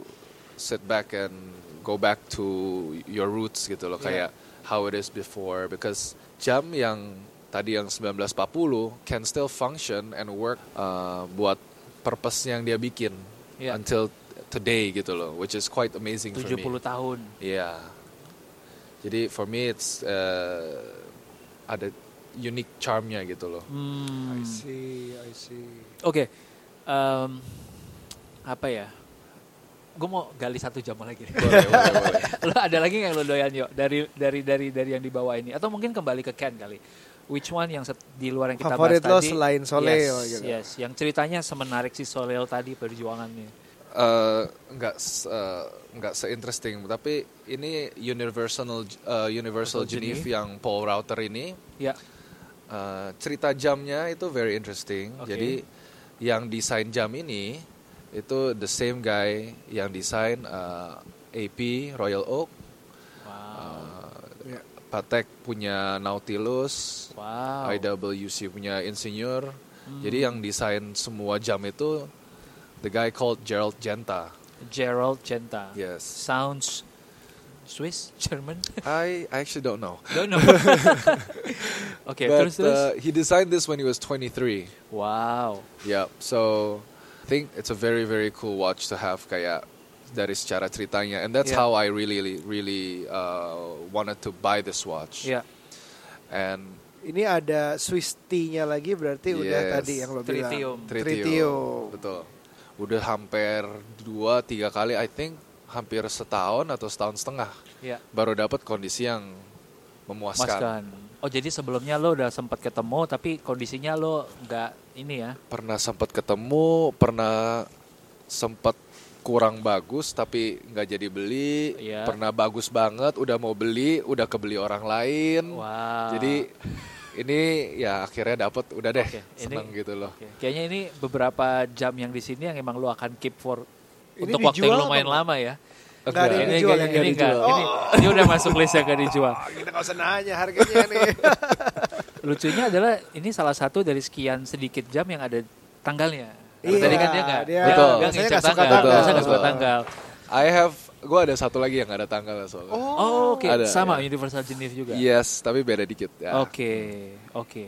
sit back and go back to your roots gitu loh. Yeah. Kayak how it is before because jam yang tadi yang nineteen forty can still function and work uh, buat purpose yang dia bikin Yeah. until today gitu loh, which is quite amazing for tujuh me. puluh tahun. Iya. Jadi for me it's uh, ada unique charmnya gitu loh. Hmm. I see, I see. Oke. Em, apa ya? Gue mau gali satu jam lagi. Boleh, boleh, boleh. Lo ada lagi yang lo doyan yuk dari dari dari dari yang di bawah ini atau mungkin kembali ke Ken kali. Which one yang set- di luar yang kita Favorit bahas lo tadi? selain Soleil Yes, gitu. yes. Yang ceritanya semenarik si Soleil tadi perjuangannya. Uh, nggak s- uh, nggak se-interesting, tapi ini Universal uh, Universal Genève Genève. yang Paul Router ini Ya. uh, cerita jamnya itu very interesting. Oke. Jadi yang desain jam ini itu the same guy yang desain uh, A P Royal Oak, Wow. uh, Ya. Patek punya Nautilus, Wow. I W C punya Insigneur. Hmm. Jadi yang desain semua jam itu the guy called Gerald Genta. Gerald Genta. Yes. Sounds Swiss, German. I actually don't know. Don't know. Oke, But terus terus. uh, he designed this when he was twenty-three. Wow. Yeah. So I think it's a very very cool watch to have kayak dari secara ceritanya, and that's Yeah. how I really really uh, wanted to buy this watch. Ya. And Ini ada Swiss T-nya lagi berarti udah Yes. tadi yang lo bilang. Tritium. Tritium. Tritium. Betul. Udah hampir dua tiga kali, I think hampir setahun atau setahun setengah Ya. baru dapat kondisi yang memuaskan. Maskan. Oh, jadi sebelumnya lo udah sempat ketemu tapi kondisinya lo nggak ini ya. Pernah sempat ketemu, pernah sempat kurang bagus tapi nggak jadi beli, Iya. pernah bagus banget, udah mau beli, udah kebeli orang lain. Wow. Jadi ini ya akhirnya dapet, udah deh, Oke, ini- seneng gitu loh. Oke. Kayaknya ini beberapa jam yang di sini yang emang lu akan keep for Ini untuk waktu yang dijual lumayan apa lama ya. Nggak ada yang Ini dijual, kayaknya- yang nggak ini enggak. dijual. Ini, ini udah masuk list yang gak dijual. Kita nggak usah nanya harganya nih. Lucunya adalah ini salah satu dari sekian sedikit jam yang ada tanggalnya. Karena Iya, tadi kan dia nggak, dia Betul. dia biasanya ngincer nggak suka tanggal, tanggal. biasanya nggak suka Betul. tanggal. I have, gue ada satu lagi yang nggak ada tanggal soalnya. Oh, oke, Ada, sama ya. Universal Genève juga. Yes, tapi beda dikit. Ya. Oke, oke.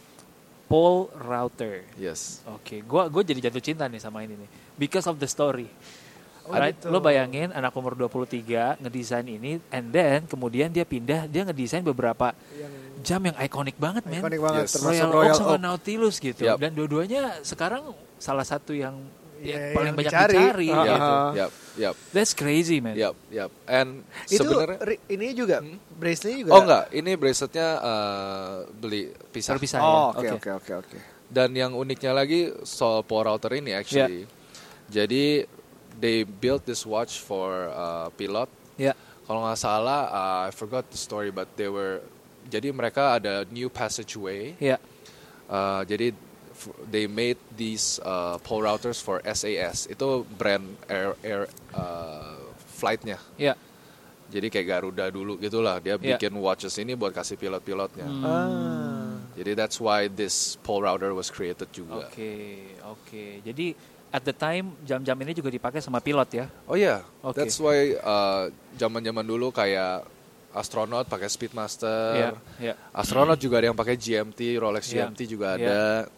Paul Router. Yes. Oke, gua gue jadi jatuh cinta nih sama ini nih. Because of the story. Oh, Right? gitu. Lo bayangin anak umur dua puluh tiga ngedesain ini and then kemudian dia pindah, dia ngedesain beberapa jam yang ikonik banget, men. Ikonik banget, Yes. termasuk Royal, Royal Oak sama Oak. Nautilus gitu. Yap. Dan dua-duanya sekarang salah satu yang, Iya, yang paling yang banyak dicari. dicari, Ah. gitu. Ah. Yap, yap, That's crazy, man. yap, yap. And Itu sebenarnya, ri- ini juga Hmm? braceletnya juga. oh enggak, ini braceletnya eh, beli pisah. Terpisah Oh, ya. oke oke oke oke. Dan yang uniknya lagi soal Paul Router ini actually. Jadi they built this watch for uh, pilot. Ya. Kalau nggak salah, uh, I forgot the story, but they were. Jadi mereka ada new passageway. Ya. Uh, jadi f- they made these uh, Paul Routers for S A S. Itu brand air air uh, flightnya. Ya. Jadi kayak Garuda dulu gitulah. Dia Yeah. bikin watches ini buat kasih pilot-pilotnya. Hmm. Ah. Jadi that's why this Paul Router was created juga. Oke, oke. Jadi at the time jam-jam ini juga dipakai sama pilot ya. Oh iya, Oke. that's why uh, zaman-zaman dulu kayak astronot pakai Speedmaster, Iya, iya. astronot juga ada yang pakai G M T, Rolex Iya, G M T juga iya. ada,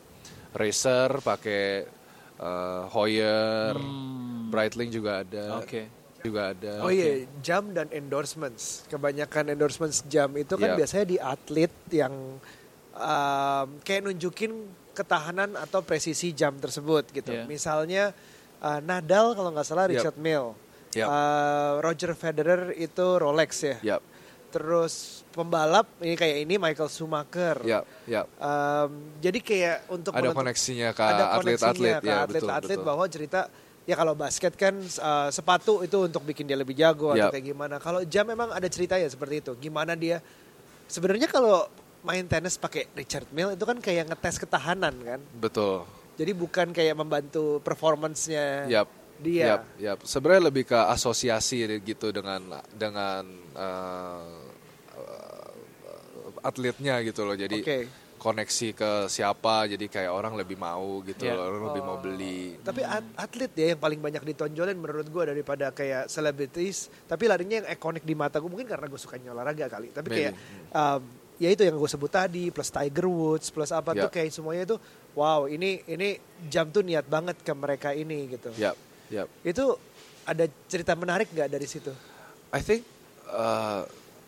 racer pakai uh, Heuer, Hmm. Breitling juga ada, Oke. juga ada. Oh iya, jam dan endorsements. Kebanyakan endorsements jam itu kan Iya. biasanya di atlet yang um, kayak nunjukin ketahanan atau presisi jam tersebut gitu. Iya. Misalnya uh, Nadal kalau nggak salah Yap. Richard Mille, Yap. Uh, Roger Federer itu Rolex ya. Yap, Terus pembalap ini kayak ini Michael Schumacher. yap, yap. Um, jadi kayak untuk Ada menentu- koneksinya ke ada atlet-atlet koneksinya ke ya, atlet-atlet betul, betul. bahwa cerita ya kalau basket kan uh, sepatu itu untuk bikin dia lebih jago atau Yap. kayak gimana. Kalau jam memang ada ceritanya seperti itu. Gimana dia sebenarnya kalau main tenis pakai Richard Mille itu kan kayak ngetes ketahanan kan. Betul. Jadi bukan kayak membantu performance-nya Yap. dia. Yap, yap. Sebenarnya lebih ke asosiasi gitu dengan dengan uh, uh, atletnya gitu loh. Jadi Oke. koneksi ke siapa, jadi kayak orang lebih mau gitu Iya. loh, orang lebih mau beli. Tapi at- atlet ya yang paling banyak ditonjolin menurut gue daripada kayak celebrities. Tapi larinya yang ikonik di mata gue mungkin karena gue suka olahraga kali. Tapi Maybe. kayak um, ya itu yang gue sebut tadi plus Tiger Woods plus apa tuh Ya. kayak semuanya itu wow ini ini jam tuh niat banget ke mereka ini gitu. Yap, yap. Itu ada cerita menarik nggak dari situ? I think uh,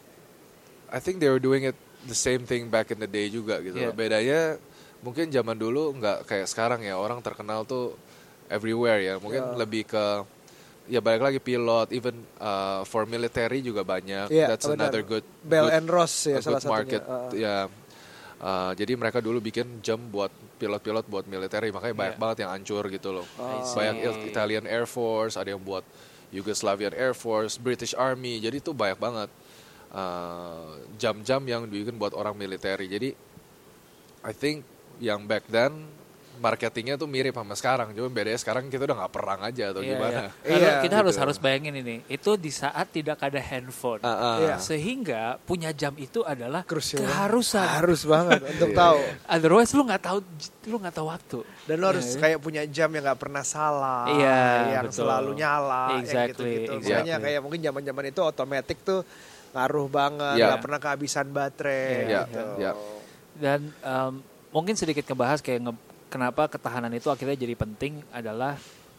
I think they were doing it the same thing back in the day juga gitu. Yeah. loh. Bedanya mungkin zaman dulu nggak kayak sekarang ya, orang terkenal tuh everywhere ya. Mungkin Yeah. lebih ke ya balik lagi pilot, even uh, for military juga banyak. Iya, That's benar. another good Bell good, and Ross ya a salah good market. satunya. Uh, Ya. Uh, jadi mereka dulu bikin jam buat pilot-pilot buat military, makanya banyak Yeah. banget yang hancur gitu loh. I see. Banyak Il- Italian Air Force, ada yang buat Yugoslavian Air Force, British Army. Jadi itu banyak banget uh, jam-jam yang dibikin buat orang military. Jadi I think yang back then marketingnya tuh mirip sama sekarang. Cuma bedanya sekarang kita udah nggak perang aja atau Iya, gimana. iya. Lalu Iya, kita harus gitu. harus bayangin ini. Itu di saat tidak ada handphone. Ah, ah. Iya. Sehingga punya jam itu adalah Crucial. keharusan. Harus banget untuk Iya, tahu. Otherwise lu nggak tahu lu nggak tahu waktu. Dan lo harus Iya. kayak punya jam yang nggak pernah salah, Iya, yang betul. selalu nyala, yang Exactly, gitu-gitu. exactly. Makanya kayak mungkin zaman-zaman itu otomatis tuh ngaruh banget, Iya. nggak pernah kehabisan baterai. Iya, gitu. iya. Dan um, mungkin sedikit ngebahas kayak nge- kenapa ketahanan itu akhirnya jadi penting adalah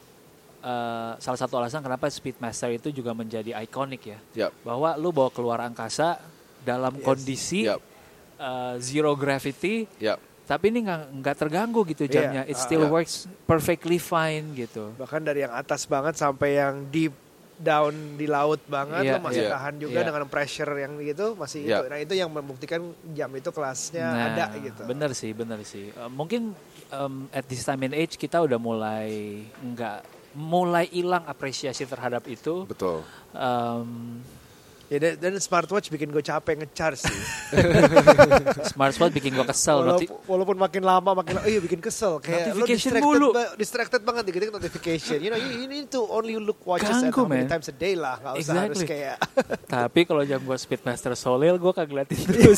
uh, salah satu alasan kenapa Speedmaster itu juga menjadi ikonik ya. Yap. Bahwa lu bawa keluar angkasa dalam Yes. kondisi Yap. uh, zero gravity, Yap. tapi ini nggak nggak terganggu gitu Iya, jamnya. It still ah, iya. works perfectly fine gitu. Bahkan dari yang atas banget sampai yang deep down di laut banget, Iya, lo masih iya. tahan juga Iya. dengan pressure yang gitu masih Iya. itu. Nah itu yang membuktikan jam itu kelasnya ada gitu. Bener sih, bener sih. Uh, mungkin um, at this time and age kita udah mulai nggak mulai hilang apresiasi terhadap itu. Betul. Um, Ya dan, dan smartwatch bikin gue capek nge-charge sih. Smartwatch bikin gue kesel. Walaupun, noti- walaupun makin lama makin lama, iya bikin kesel. Kayak lo Notification distracted, mulu. ba- distracted banget dikit-dikit notification. You know, you, you need to only look watches at Ganggu, how many man. times a day lah. Gak usah Exactly. harus kayak. Tapi kalau jam gue Speedmaster Solil, gue kagak ngeliatin terus.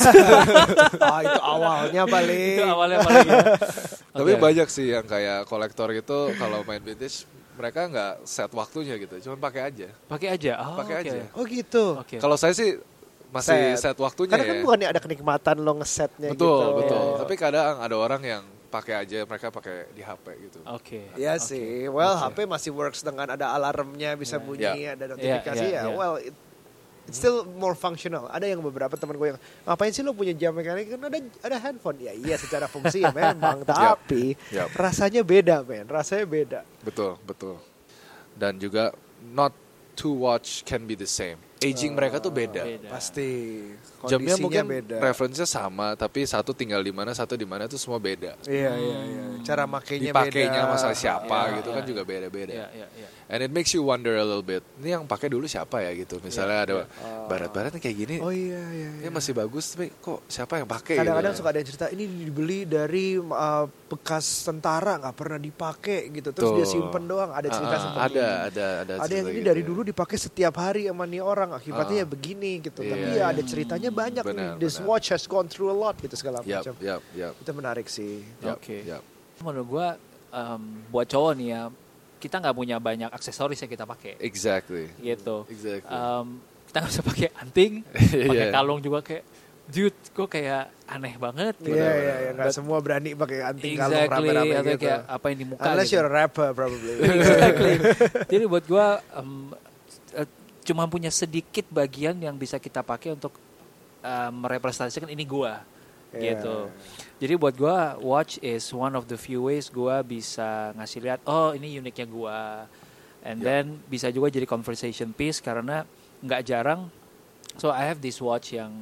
Ah itu awalnya paling. Itu awalnya paling ya. Tapi Oke. banyak sih yang kayak kolektor gitu kalau main vintage mereka nggak set waktunya gitu, cuma pakai aja. Pakai aja. Oh, Pakai oke. aja. Oh gitu. Oke. Kalau saya sih masih set, waktunya Karena kan ya. bukannya ada kenikmatan lo ngesetnya Betul, gitu. betul. Ya. Tapi kadang ada orang yang pakai aja, mereka pakai di H P gitu. Oke. Iya Oke. sih. Well, Oke. H P masih works dengan ada alarmnya bisa Ya. bunyi, Ya. ada notifikasi Ya, ya, ya. ya. Well, it, it's still more functional. Ada yang beberapa teman gue yang ngapain sih lo punya jam mekanik? Kan ada ada handphone. Ya iya secara fungsi ya memang, tapi Yap. rasanya beda, men. Rasanya beda. Betul, betul. Dan juga not two watch can be the same. Aging mereka tuh beda. Beda. Pasti. Jamnya Kondisinya mungkin beda. referensinya sama, tapi satu tinggal di mana, satu di mana itu semua beda. Iya, iya, iya. Cara makainya Dipakainya beda. masalah siapa Ya, gitu ya, kan ya. juga beda-beda. Iya, iya, iya. And it makes you wonder a little bit. Ini yang pakai dulu siapa ya gitu. Misalnya ada barat-barat kayak gini. Oh iya, iya. Ini iya. masih bagus tapi kok siapa yang pakai Kadang-kadang gitu. suka ada yang cerita ini dibeli dari uh, bekas tentara nggak pernah dipakai gitu terus Tuh. dia simpen doang ada cerita Ah, seperti ada, ini. ada, ada. Ada yang cerita ini gitu dari ya. dulu dipakai setiap hari sama nih orang akibatnya Ah. ya begini gitu Iya, tapi iya. ya ada ceritanya banyak nih. Benar, This benar. watch has gone through a lot gitu segala Yap, macam yap, yap. itu menarik sih. yap, Oke. yap. Menurut gue um, buat cowok nih ya, kita nggak punya banyak aksesoris yang kita pakai. Exactly. Gitu. Exactly. Um, kita nggak bisa pakai anting, pakai Iya. kalung juga kayak, dude, kok kayak aneh banget. Iya gitu. iya iya nggak But- semua berani pakai anting kalung Exactly, rame-rame atau gitu. kayak apa yang di muka. Unless gitu. you're a rapper probably. Exactly. Jadi buat gue um, uh, cuma punya sedikit bagian yang bisa kita pakai untuk uh, merepresentasikan ini gue. Yeah. Gitu. Jadi buat gue watch is one of the few ways gue bisa ngasih lihat, oh ini uniknya gue. And Yeah. then bisa juga jadi conversation piece karena nggak jarang. So I have this watch yang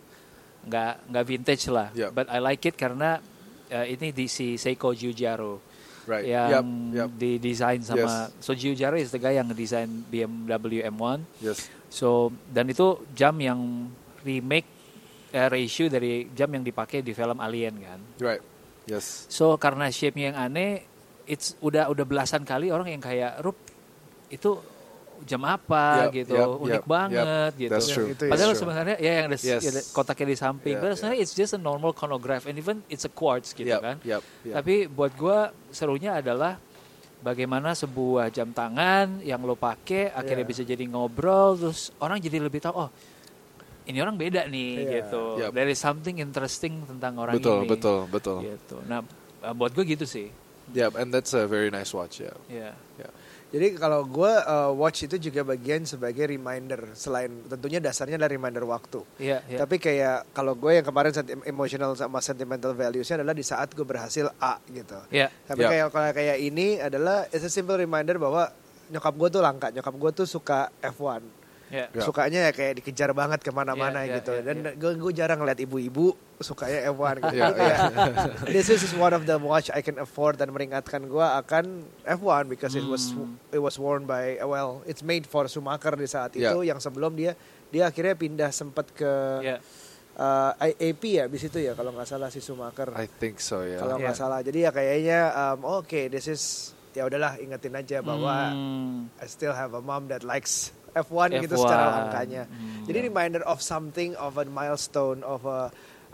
nggak nggak vintage lah, Yeah. but I like it karena uh, ini di si Seiko Giugiaro Right. yang Yep, yep. didesain sama Yes. so Giugiaro is the guy yang ngedesain B M W M one. Yes. So dan itu jam yang remake eh, reissue dari jam yang dipakai di film Alien kan. Right. Yes. So karena shape-nya yang aneh, it's udah udah belasan kali orang yang kayak Rup itu jam apa Yep, gitu, yep, unik yep, banget yep. gitu. That's true. Itu ya. Padahal That's true. sebenarnya ya yang ada Yes. ada kotaknya di samping, Yeah, padahal sebenarnya it's just a normal chronograph and even it's a quartz gitu Yep, kan. Yep. Yep. Tapi buat gua serunya adalah bagaimana sebuah jam tangan yang lo pakai akhirnya Yeah. bisa jadi ngobrol, terus orang jadi lebih tahu, oh ini orang beda nih Yeah. gitu. Yep. There is something interesting tentang orang betul, ini. betul, betul. Gitu. Nah uh, buat gue gitu sih. Yep, and that's a very nice watch, yeah. Ya. Yeah. Jadi kalau gue uh, watch itu juga bagian sebagai reminder selain tentunya dasarnya adalah reminder waktu. Iya, iya. Tapi kayak kalau gue yang kemarin senti- emotional sama sentimental values-nya adalah di saat gue berhasil A gitu. Iya. Tapi Yep. kayak kalau kayak ini adalah it's a simple reminder bahwa nyokap gue tuh langka. Nyokap gue tuh suka F one. Iya. Ya. Sukanya ya kayak dikejar banget kemana-mana Iya, iya, gitu. iya, Dan iya. gue gue jarang ngeliat ibu-ibu sukanya F one gitu. Iya, Jadi kayak, this is one of the watch I can afford dan meringatkan gue akan F one because it was Hmm. it was worn by well it's made for Schumacher di saat Iya. itu yang sebelum dia dia akhirnya pindah sempat ke Iya. uh, A P ya abis itu ya kalau nggak salah si Schumacher. I think so, yeah. Kalau nggak Iya. salah. Jadi ya kayaknya um, oke this is ya udahlah ingetin aja bahwa Hmm. I still have a mom that likes F one gitu F one. secara angkanya. Hmm. Jadi reminder of something, of a milestone, of a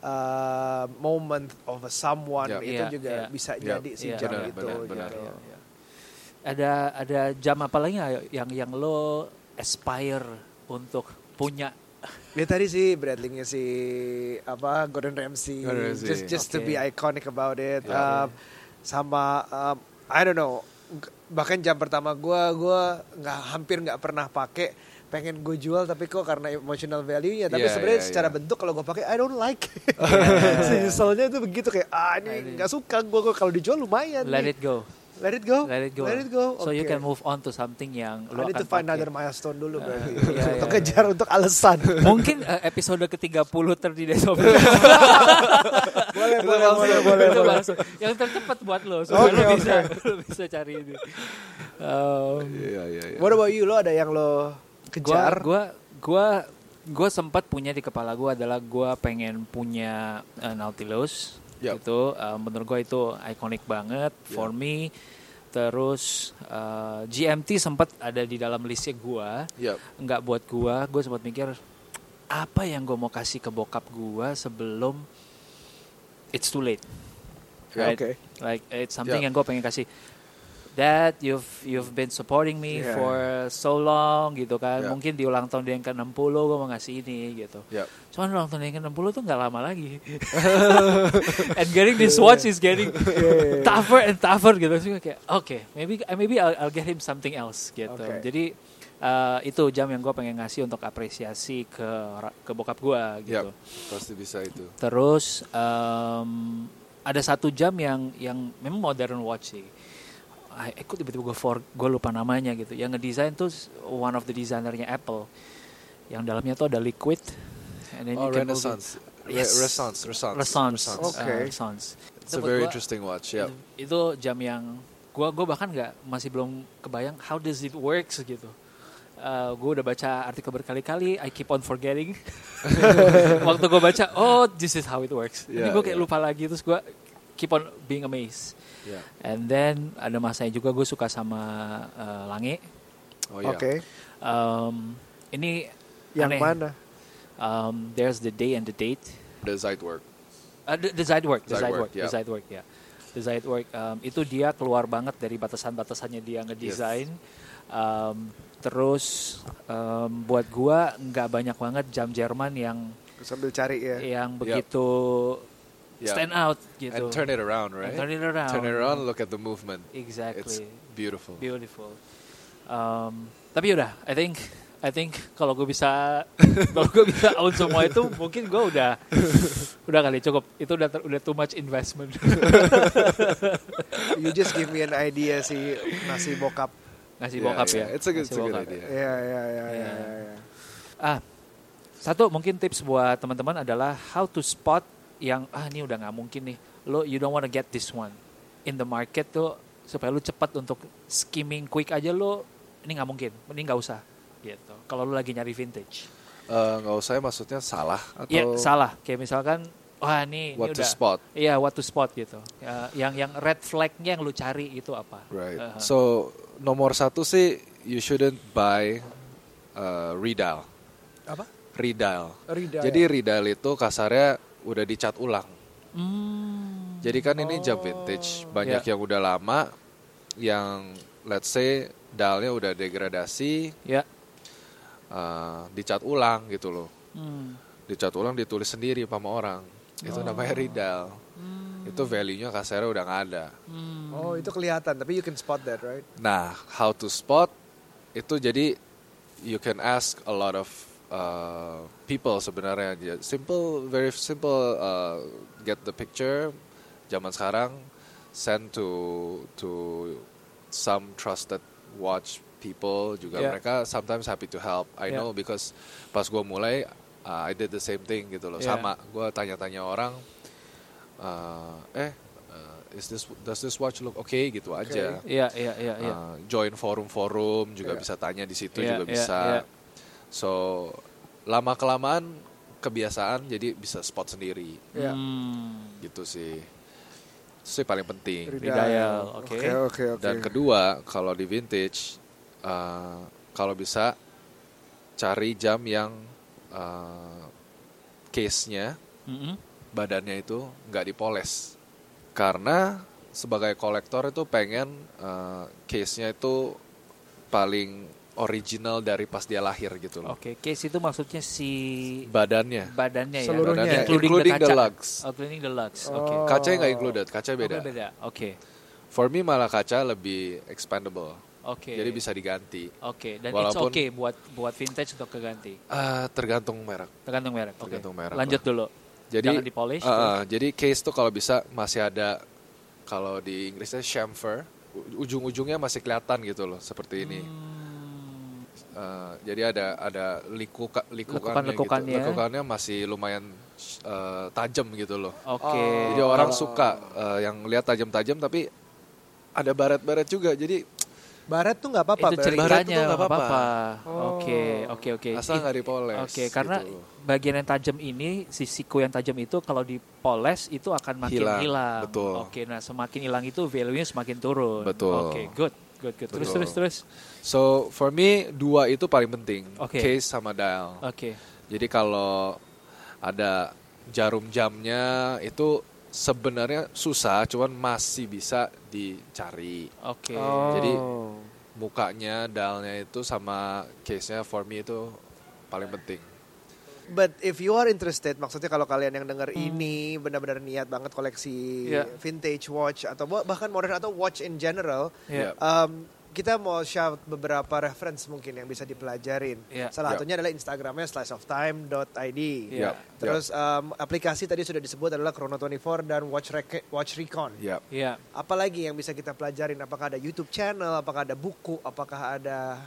uh, moment, of a someone Yep. itu Iya, juga iya. bisa Yep. jadi si Iya, jam benar, itu. benar, gitu. benar. Iya, iya. Ada ada jam apa lagi nggak yang yang lo aspire untuk punya? Ya tadi sih brandingnya si apa Gordon Ramsay, Gordon Ramsay. just just to Oke. be iconic about it. Yeah. Um, sama um, I don't know, g- bahkan jam pertama gue gue nggak hampir nggak pernah pakai, pengen gue jual tapi kok karena emotional value-nya. Tapi Yeah, sebenarnya yeah, secara yeah. bentuk kalau gue pakai I don't like. Nyeselnya itu begitu kayak ah ini nggak suka gue kalau dijual lumayan. Let nih. it go. Let it go. Let it go. Let it go. So you Oke. can move on to something yang lo I need akan to find pakai. another milestone dulu berarti. iya, untuk iya, kejar untuk alasan. Mungkin uh, episode ke tiga puluh thirty Days of Love. boleh, boleh, boleh, boleh, Itu boleh. langsung. Yang tercepat buat lo supaya Oke, lo oke. bisa lo bisa cari ini. Um, Iya, iya, iya. What about you? Lo ada yang lo kejar? Gua gua gua sempat punya di kepala gua adalah gua pengen punya uh, Nautilus. Yep. Itu uh, menurut gua itu ikonik banget for me. Terus uh, G M T sempat ada di dalam listnya gua. Yep. Nggak buat gua, gua sempat mikir apa yang gua mau kasih ke bokap gua sebelum it's too late. Right? Okay. Like it's something Yeah. yang gue pengen kasih. Dad, you've you've been supporting me Yeah. for so long gitu kan. Yeah. Mungkin di ulang tahun dia yang ke enam puluh gue mau ngasih ini gitu. Yep. Cuman ulang tahun dia yang ke enam puluh tuh nggak lama lagi. And getting this watch is getting tougher and tougher gitu. Terus gue kayak oke, okay, maybe maybe I'll, I'll get him something else gitu. Okay. Jadi uh, itu jam yang gue pengen ngasih untuk apresiasi ke ke bokap gue gitu. Yep. Pasti bisa itu. Terus um, ada satu jam yang yang memang modern watch sih. I, aku tiba-tiba gue for gue lupa namanya gitu. Yang ngedesain tuh one of the designernya Apple. Yang dalamnya tuh ada liquid. And then Oh, you can move Renaissance. it. Yes. Re- Renaissance. Renaissance. Renaissance. Renaissance. Okay. Uh, Renaissance. It's Itu a buat very gua- interesting watch. Yep. Itu, itu jam yang gue gue bahkan nggak masih belum kebayang how does it works gitu. Uh, gue udah baca artikel berkali-kali, I keep on forgetting. Waktu gue baca, oh this is how it works. Ini Yeah, gue kayak yeah. lupa lagi, terus gue keep on being amazed. Yeah. And then ada masanya juga gue suka sama uh, Lange. Oh yeah. Oke. Um, ini Yang aneh. mana? Um, there's the day and the date. The Zeitwerk. Uh, the, the Zeitwerk, the Zeitwerk, Zeitwerk, yeah. the Zeitwerk, ya. The Zeitwerk, um, itu dia keluar banget dari batasan-batasannya dia ngedesain. Um, terus um, buat gua nggak banyak banget jam Jerman yang Sambil cari ya. yang begitu Yeah. stand out gitu. And turn it around, right? And turn it around. Turn it around. Look at the movement. Exactly. It's beautiful. Beautiful. Um, tapi udah, I think I think kalau gue bisa kalau gue bisa own semua itu mungkin gue udah udah kali cukup. Itu udah ter- udah too much investment. You just give me an idea sih nasi bokap. Ngasih Yeah, bokap yeah. ya. It's a good, Ngasih it's a good bokap. idea. Iya iya iya iya. Iya. iya. Ah, satu mungkin tips buat teman-teman adalah how to spot yang ah ini udah nggak mungkin nih. Lo you don't wanna get this one in the market tuh supaya lo cepat untuk skimming quick aja lo ini nggak mungkin. Mending nggak usah gitu. Kalau lo lagi nyari vintage. Eh, Nggak usah, maksudnya salah atau Ya salah. Kayak misalkan wah ini ini what to udah spot. iya what to spot gitu. Ya, yang yang red flagnya yang lo cari itu apa? Right. Uh-huh. So nomor satu sih you shouldn't buy uh, redial. Apa? Redial. Redial. Jadi redial itu kasarnya udah dicat ulang. Hmm. Jadi kan ini jam vintage, banyak Yeah. yang udah lama, yang let's say dialnya udah degradasi, Ya. uh, dicat ulang gitu loh. Hmm. Dicat ulang ditulis sendiri sama orang. Itu namanya redial. Itu value-nya kasarnya udah nggak ada. Hmm. Oh itu kelihatan tapi you can spot that right? Nah, how to spot itu jadi you can ask a lot of uh, people sebenarnya. Ya, simple, very simple. Uh, get the picture. Zaman sekarang send to to some trusted watch people juga. Yeah. Mereka sometimes happy to help. I Yeah. know because pas gue mulai uh, I did the same thing gitu loh. Yeah. Sama gue tanya-tanya orang. Uh, eh, uh, is this does this watch look okay gitu aja. Iya iya iya iya. Uh, join forum-forum juga Yeah. bisa tanya di situ Yeah, juga yeah, bisa. yeah. So lama kelamaan kebiasaan jadi bisa spot sendiri Iya. Hmm. gitu sih. Itu sih paling penting. Redial, oke. Oke oke oke. Dan kedua kalau di vintage uh, kalau bisa cari jam yang uh, case-nya Mm-mm. badannya itu nggak dipoles karena sebagai kolektor itu pengen uh, case-nya itu paling original dari pas dia lahir gitu loh. Oke, case itu maksudnya si Badannya, badannya ya. Seluruhnya. badannya Including, including the the kaca. lugs. Oh, including the lugs. Oh. Oke. Kacanya nggak included, kaca beda. Oke, beda. Oke. For me malah kaca lebih expandable, Oke. jadi bisa diganti. Oke, dan Walaupun- it's okay buat buat vintage untuk keganti. Ah, tergantung merek. Tergantung merek. Oke. Tergantung merek Lanjut lah. dulu. Jadi, Jangan di-polish. ah, ah, jadi case tuh kalau bisa masih ada, kalau di Inggrisnya chamfer, u- ujung-ujungnya masih kelihatan gitu loh, seperti ini. Hmm. Uh, jadi ada ada liku likukannya Lekukan-lekukannya. gitu. Lekukannya masih lumayan uh, tajam gitu loh. Oke. Jadi orang suka uh, yang lihat tajam-tajam tapi ada baret-baret juga. Jadi Baret tuh nggak apa-apa. Itu berarti. Baret tuh ceritanya nggak nggak apa-apa. apa-apa. Oh. Oke, oke, oke. Asal nggak dipoles. Oke, karena gitu. bagian yang tajam ini, si siku yang tajam itu kalau dipoles itu akan makin Hilang, hilang. betul. Oke, nah semakin hilang itu value-nya semakin turun. Betul. Oke, good, good, good. Terus, Betul. terus, terus. So for me dua itu paling penting, Oke. case sama dial. Oke, Jadi kalau ada jarum jamnya itu sebenarnya susah, cuman masih bisa dicari. oke. Oh. Jadi mukanya, dialnya itu sama case-nya for me itu paling penting. But if you are interested, maksudnya kalau kalian yang dengar ini benar-benar niat banget koleksi Yeah. vintage watch atau bah- bahkan modern atau watch in general, Yeah. um, kita mau shout beberapa reference mungkin yang bisa dipelajarin. Yeah. Salah Yeah. satunya adalah Instagramnya slice of time dot i d. Yeah. Terus um, aplikasi tadi sudah disebut adalah Chrono dua puluh empat dan Watch, Rec- Watch Recon. Ya. Iya. Apalagi yang bisa kita pelajarin? Apakah ada YouTube channel? Apakah ada buku? Apakah ada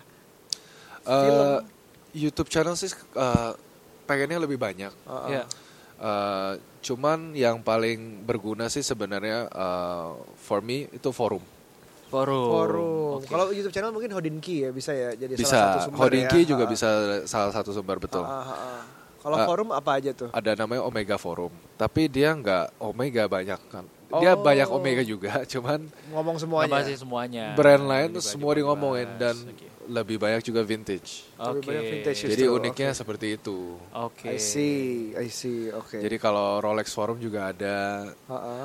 Eh, film? YouTube channel sih eh, pengennya lebih banyak. Uh-uh. Iya. Eh, cuman yang paling berguna sih sebenarnya eh, for me itu forum. Forum. Forum. Oke. Kalau YouTube channel mungkin Hodinki ya bisa ya jadi salah Bisa, satu sumber Hodinki ya. juga Ha-ha. bisa salah satu sumber, betul. Ha-ha. Kalau Ah. forum apa aja tuh? Ada namanya Omega Forum, tapi dia nggak Omega banyak kan. Dia Oh. banyak Omega juga, cuman Ngomong semuanya. Ngebahas semuanya. brand lain Lebih tuh banyak semua di ngomongin dibahas. dan Oke. lebih banyak juga vintage. Lebih Oke. banyak vintage Jadi Justru, uniknya oke. seperti itu. Oke. I see, I see. Oke. Jadi kalau Rolex Forum juga ada, Ha-ha.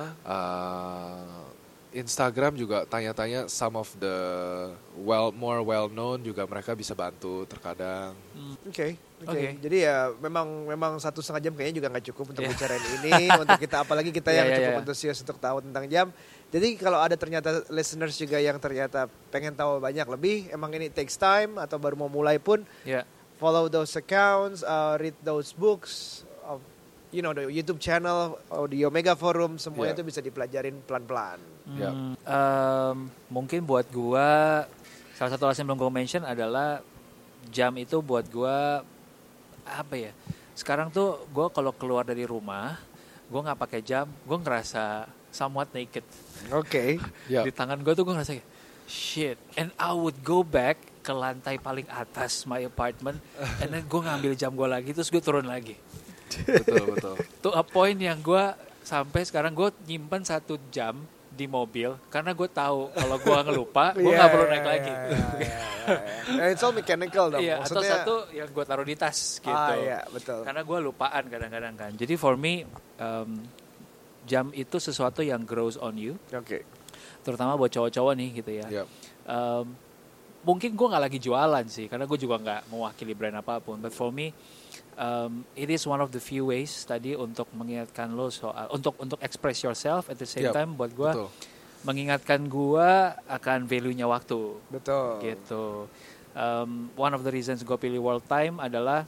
uh, Instagram juga tanya-tanya some of the well more well known juga mereka bisa bantu terkadang. Oke, oke. Oke. Jadi ya memang memang satu setengah jam kayaknya juga nggak cukup untuk Iya. bicarain ini. Untuk kita apalagi kita Iya, yang iya, cukup iya. antusias untuk tahu tentang jam. Jadi kalau ada ternyata listeners juga yang ternyata pengen tahu banyak lebih, emang ini takes time atau baru mau mulai pun, Ya. follow those accounts, uh, read those books, uh, you know the YouTube channel, uh, di Omega Forum, semuanya Yeah. itu bisa dipelajarin pelan-pelan. Ya. Hmm, em, mungkin buat gua salah satu alasan yang belum gua mention adalah jam itu buat gua apa ya? Sekarang tuh gua kalau keluar dari rumah, gua nggak pakai jam, gua ngerasa somewhat naked. Oke. Ya. Di tangan gua tuh gua ngerasa kayak, shit. And I would go back ke lantai paling atas my apartment, and then gua ngambil jam gua lagi, terus gua turun lagi. Betul betul. To a point yang gua sampai sekarang gua nyimpan satu jam di mobil karena gue tahu kalau gue ngelupa gue Iya, nggak perlu iya, naik iya, lagi. iya, iya, iya. It's all mechanical dong. Iya, atau Maksudnya, satu yang gue taruh di tas gitu. Ah, iya, betul. Karena gue lupaan kadang-kadang kan. Jadi for me um, jam itu sesuatu yang grows on you, Oke. terutama buat cowok-cowok nih gitu ya. Ya. Um, mungkin gue nggak lagi jualan sih, karena gue juga nggak mewakili brand apapun. But for me, um, it is one of the few ways tadi untuk mengingatkan lo soal untuk untuk express yourself at the same Yap, time buat gue betul. mengingatkan gue akan value-nya waktu. Betul. Gitu. Um, one of the reasons gue pilih World Time adalah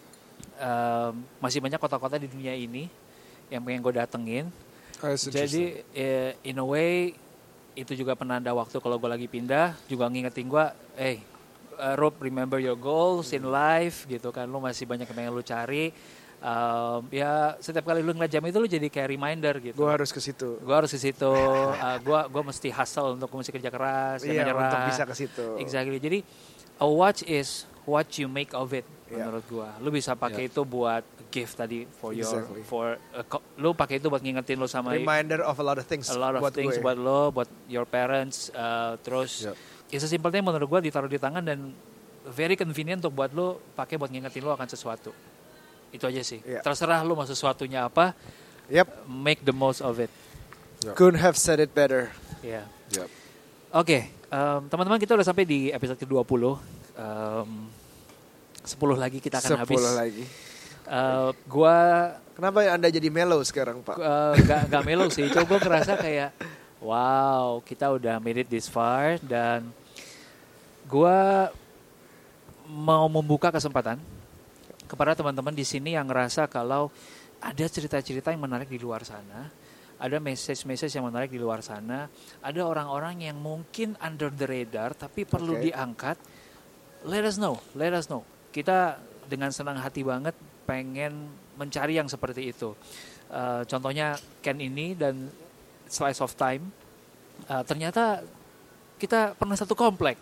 um, masih banyak kota-kota di dunia ini yang pengen gue datengin. Oh, it's interesting. Jadi eh, in a way itu juga penanda waktu kalau gue lagi pindah, juga ngingetin gue, eh uh, Rob, remember your goals in life gitu kan, lu masih banyak yang pengen lu cari. Um, ya setiap kali lu ngeliat jam itu lu jadi kayak reminder gitu. Gue harus ke situ. Gue harus ke situ, uh, gue gue mesti hustle untuk gue mesti kerja keras, jangan Iya, nyerah. untuk bisa ke situ. Exactly. Jadi a watch is what you make of it Iya. menurut gue. Lu bisa pakai itu buat gift tadi for your Exactly. for uh, ko- lu pakai itu buat ngingetin lu sama Reminder of a lot of things. a lot of buat things gue. buat lo, buat your parents, uh, terus Yep. ya sesimpelnya menurut gue ditaruh di tangan dan very convenient untuk buat lo pakai buat ngingetin lo akan sesuatu. Itu aja sih. Yeah. Terserah lo mau sesuatunya apa, Yep. make the most of it. Couldn't have said it better. Ya. Yep. Oke, um, teman-teman kita udah sampai di episode ke dua puluh. Um, sepuluh lagi kita akan habis. Sepuluh lagi. Uh, gua Kenapa Anda jadi mellow sekarang, Pak? uh, gak, gak melo sih. Coba gue ngerasa kayak wow, kita udah made it this far dan gua mau membuka kesempatan kepada teman-teman di sini yang ngerasa kalau ada cerita-cerita yang menarik di luar sana, ada message-message yang menarik di luar sana, ada orang-orang yang mungkin under the radar tapi perlu Oke. diangkat. Let us know, let us know. Kita dengan senang hati banget pengen mencari yang seperti itu. Uh, contohnya Ken ini dan Slice of Time, uh, ternyata kita pernah satu komplek.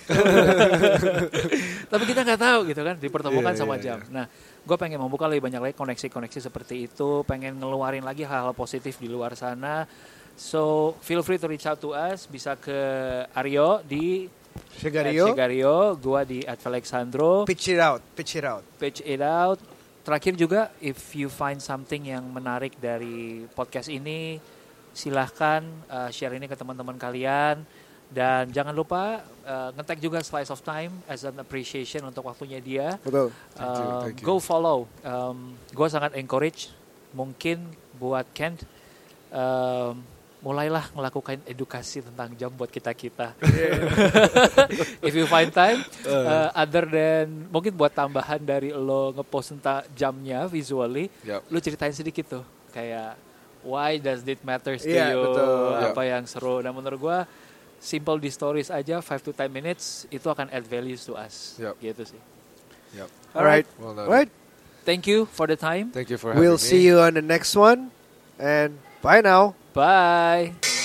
Tapi kita nggak tahu gitu kan, dipertemukan Iya, sama iya, jam. iya. Nah, gue pengen membuka lebih banyak lagi koneksi-koneksi seperti itu, pengen ngeluarin lagi hal-hal positif di luar sana. So, feel free to reach out to us. Bisa ke Aryo di Shegario, Shegario, gue di at Alexandro. pitch it out, pitch it out. Pitch it out. Terakhir juga, if you find something yang menarik dari podcast ini, silahkan uh, share ini ke teman-teman kalian. Dan jangan lupa uh, nge-tag juga Slice of Time as an appreciation untuk waktunya dia. Betul. Thank you, Um, thank you. Go follow. Um, gue sangat encourage. Mungkin buat Kent, um, mulailah melakukan edukasi tentang jam buat kita-kita. If you find time, uh, other than mungkin buat tambahan dari lo ngepost tentang jamnya visually, Yep. lo ceritain sedikit tuh. Kayak, why does it matters to Iya, you? betul. Apa yang seru. Dan menurut gue, simple di stories aja, five to ten minutes, itu akan add values to us. Yep. Gitu sih. Yep. Alright, Well done. alright. Thank you for the time. Thank you for having We'll me. see you on the next one, and bye now. Bye.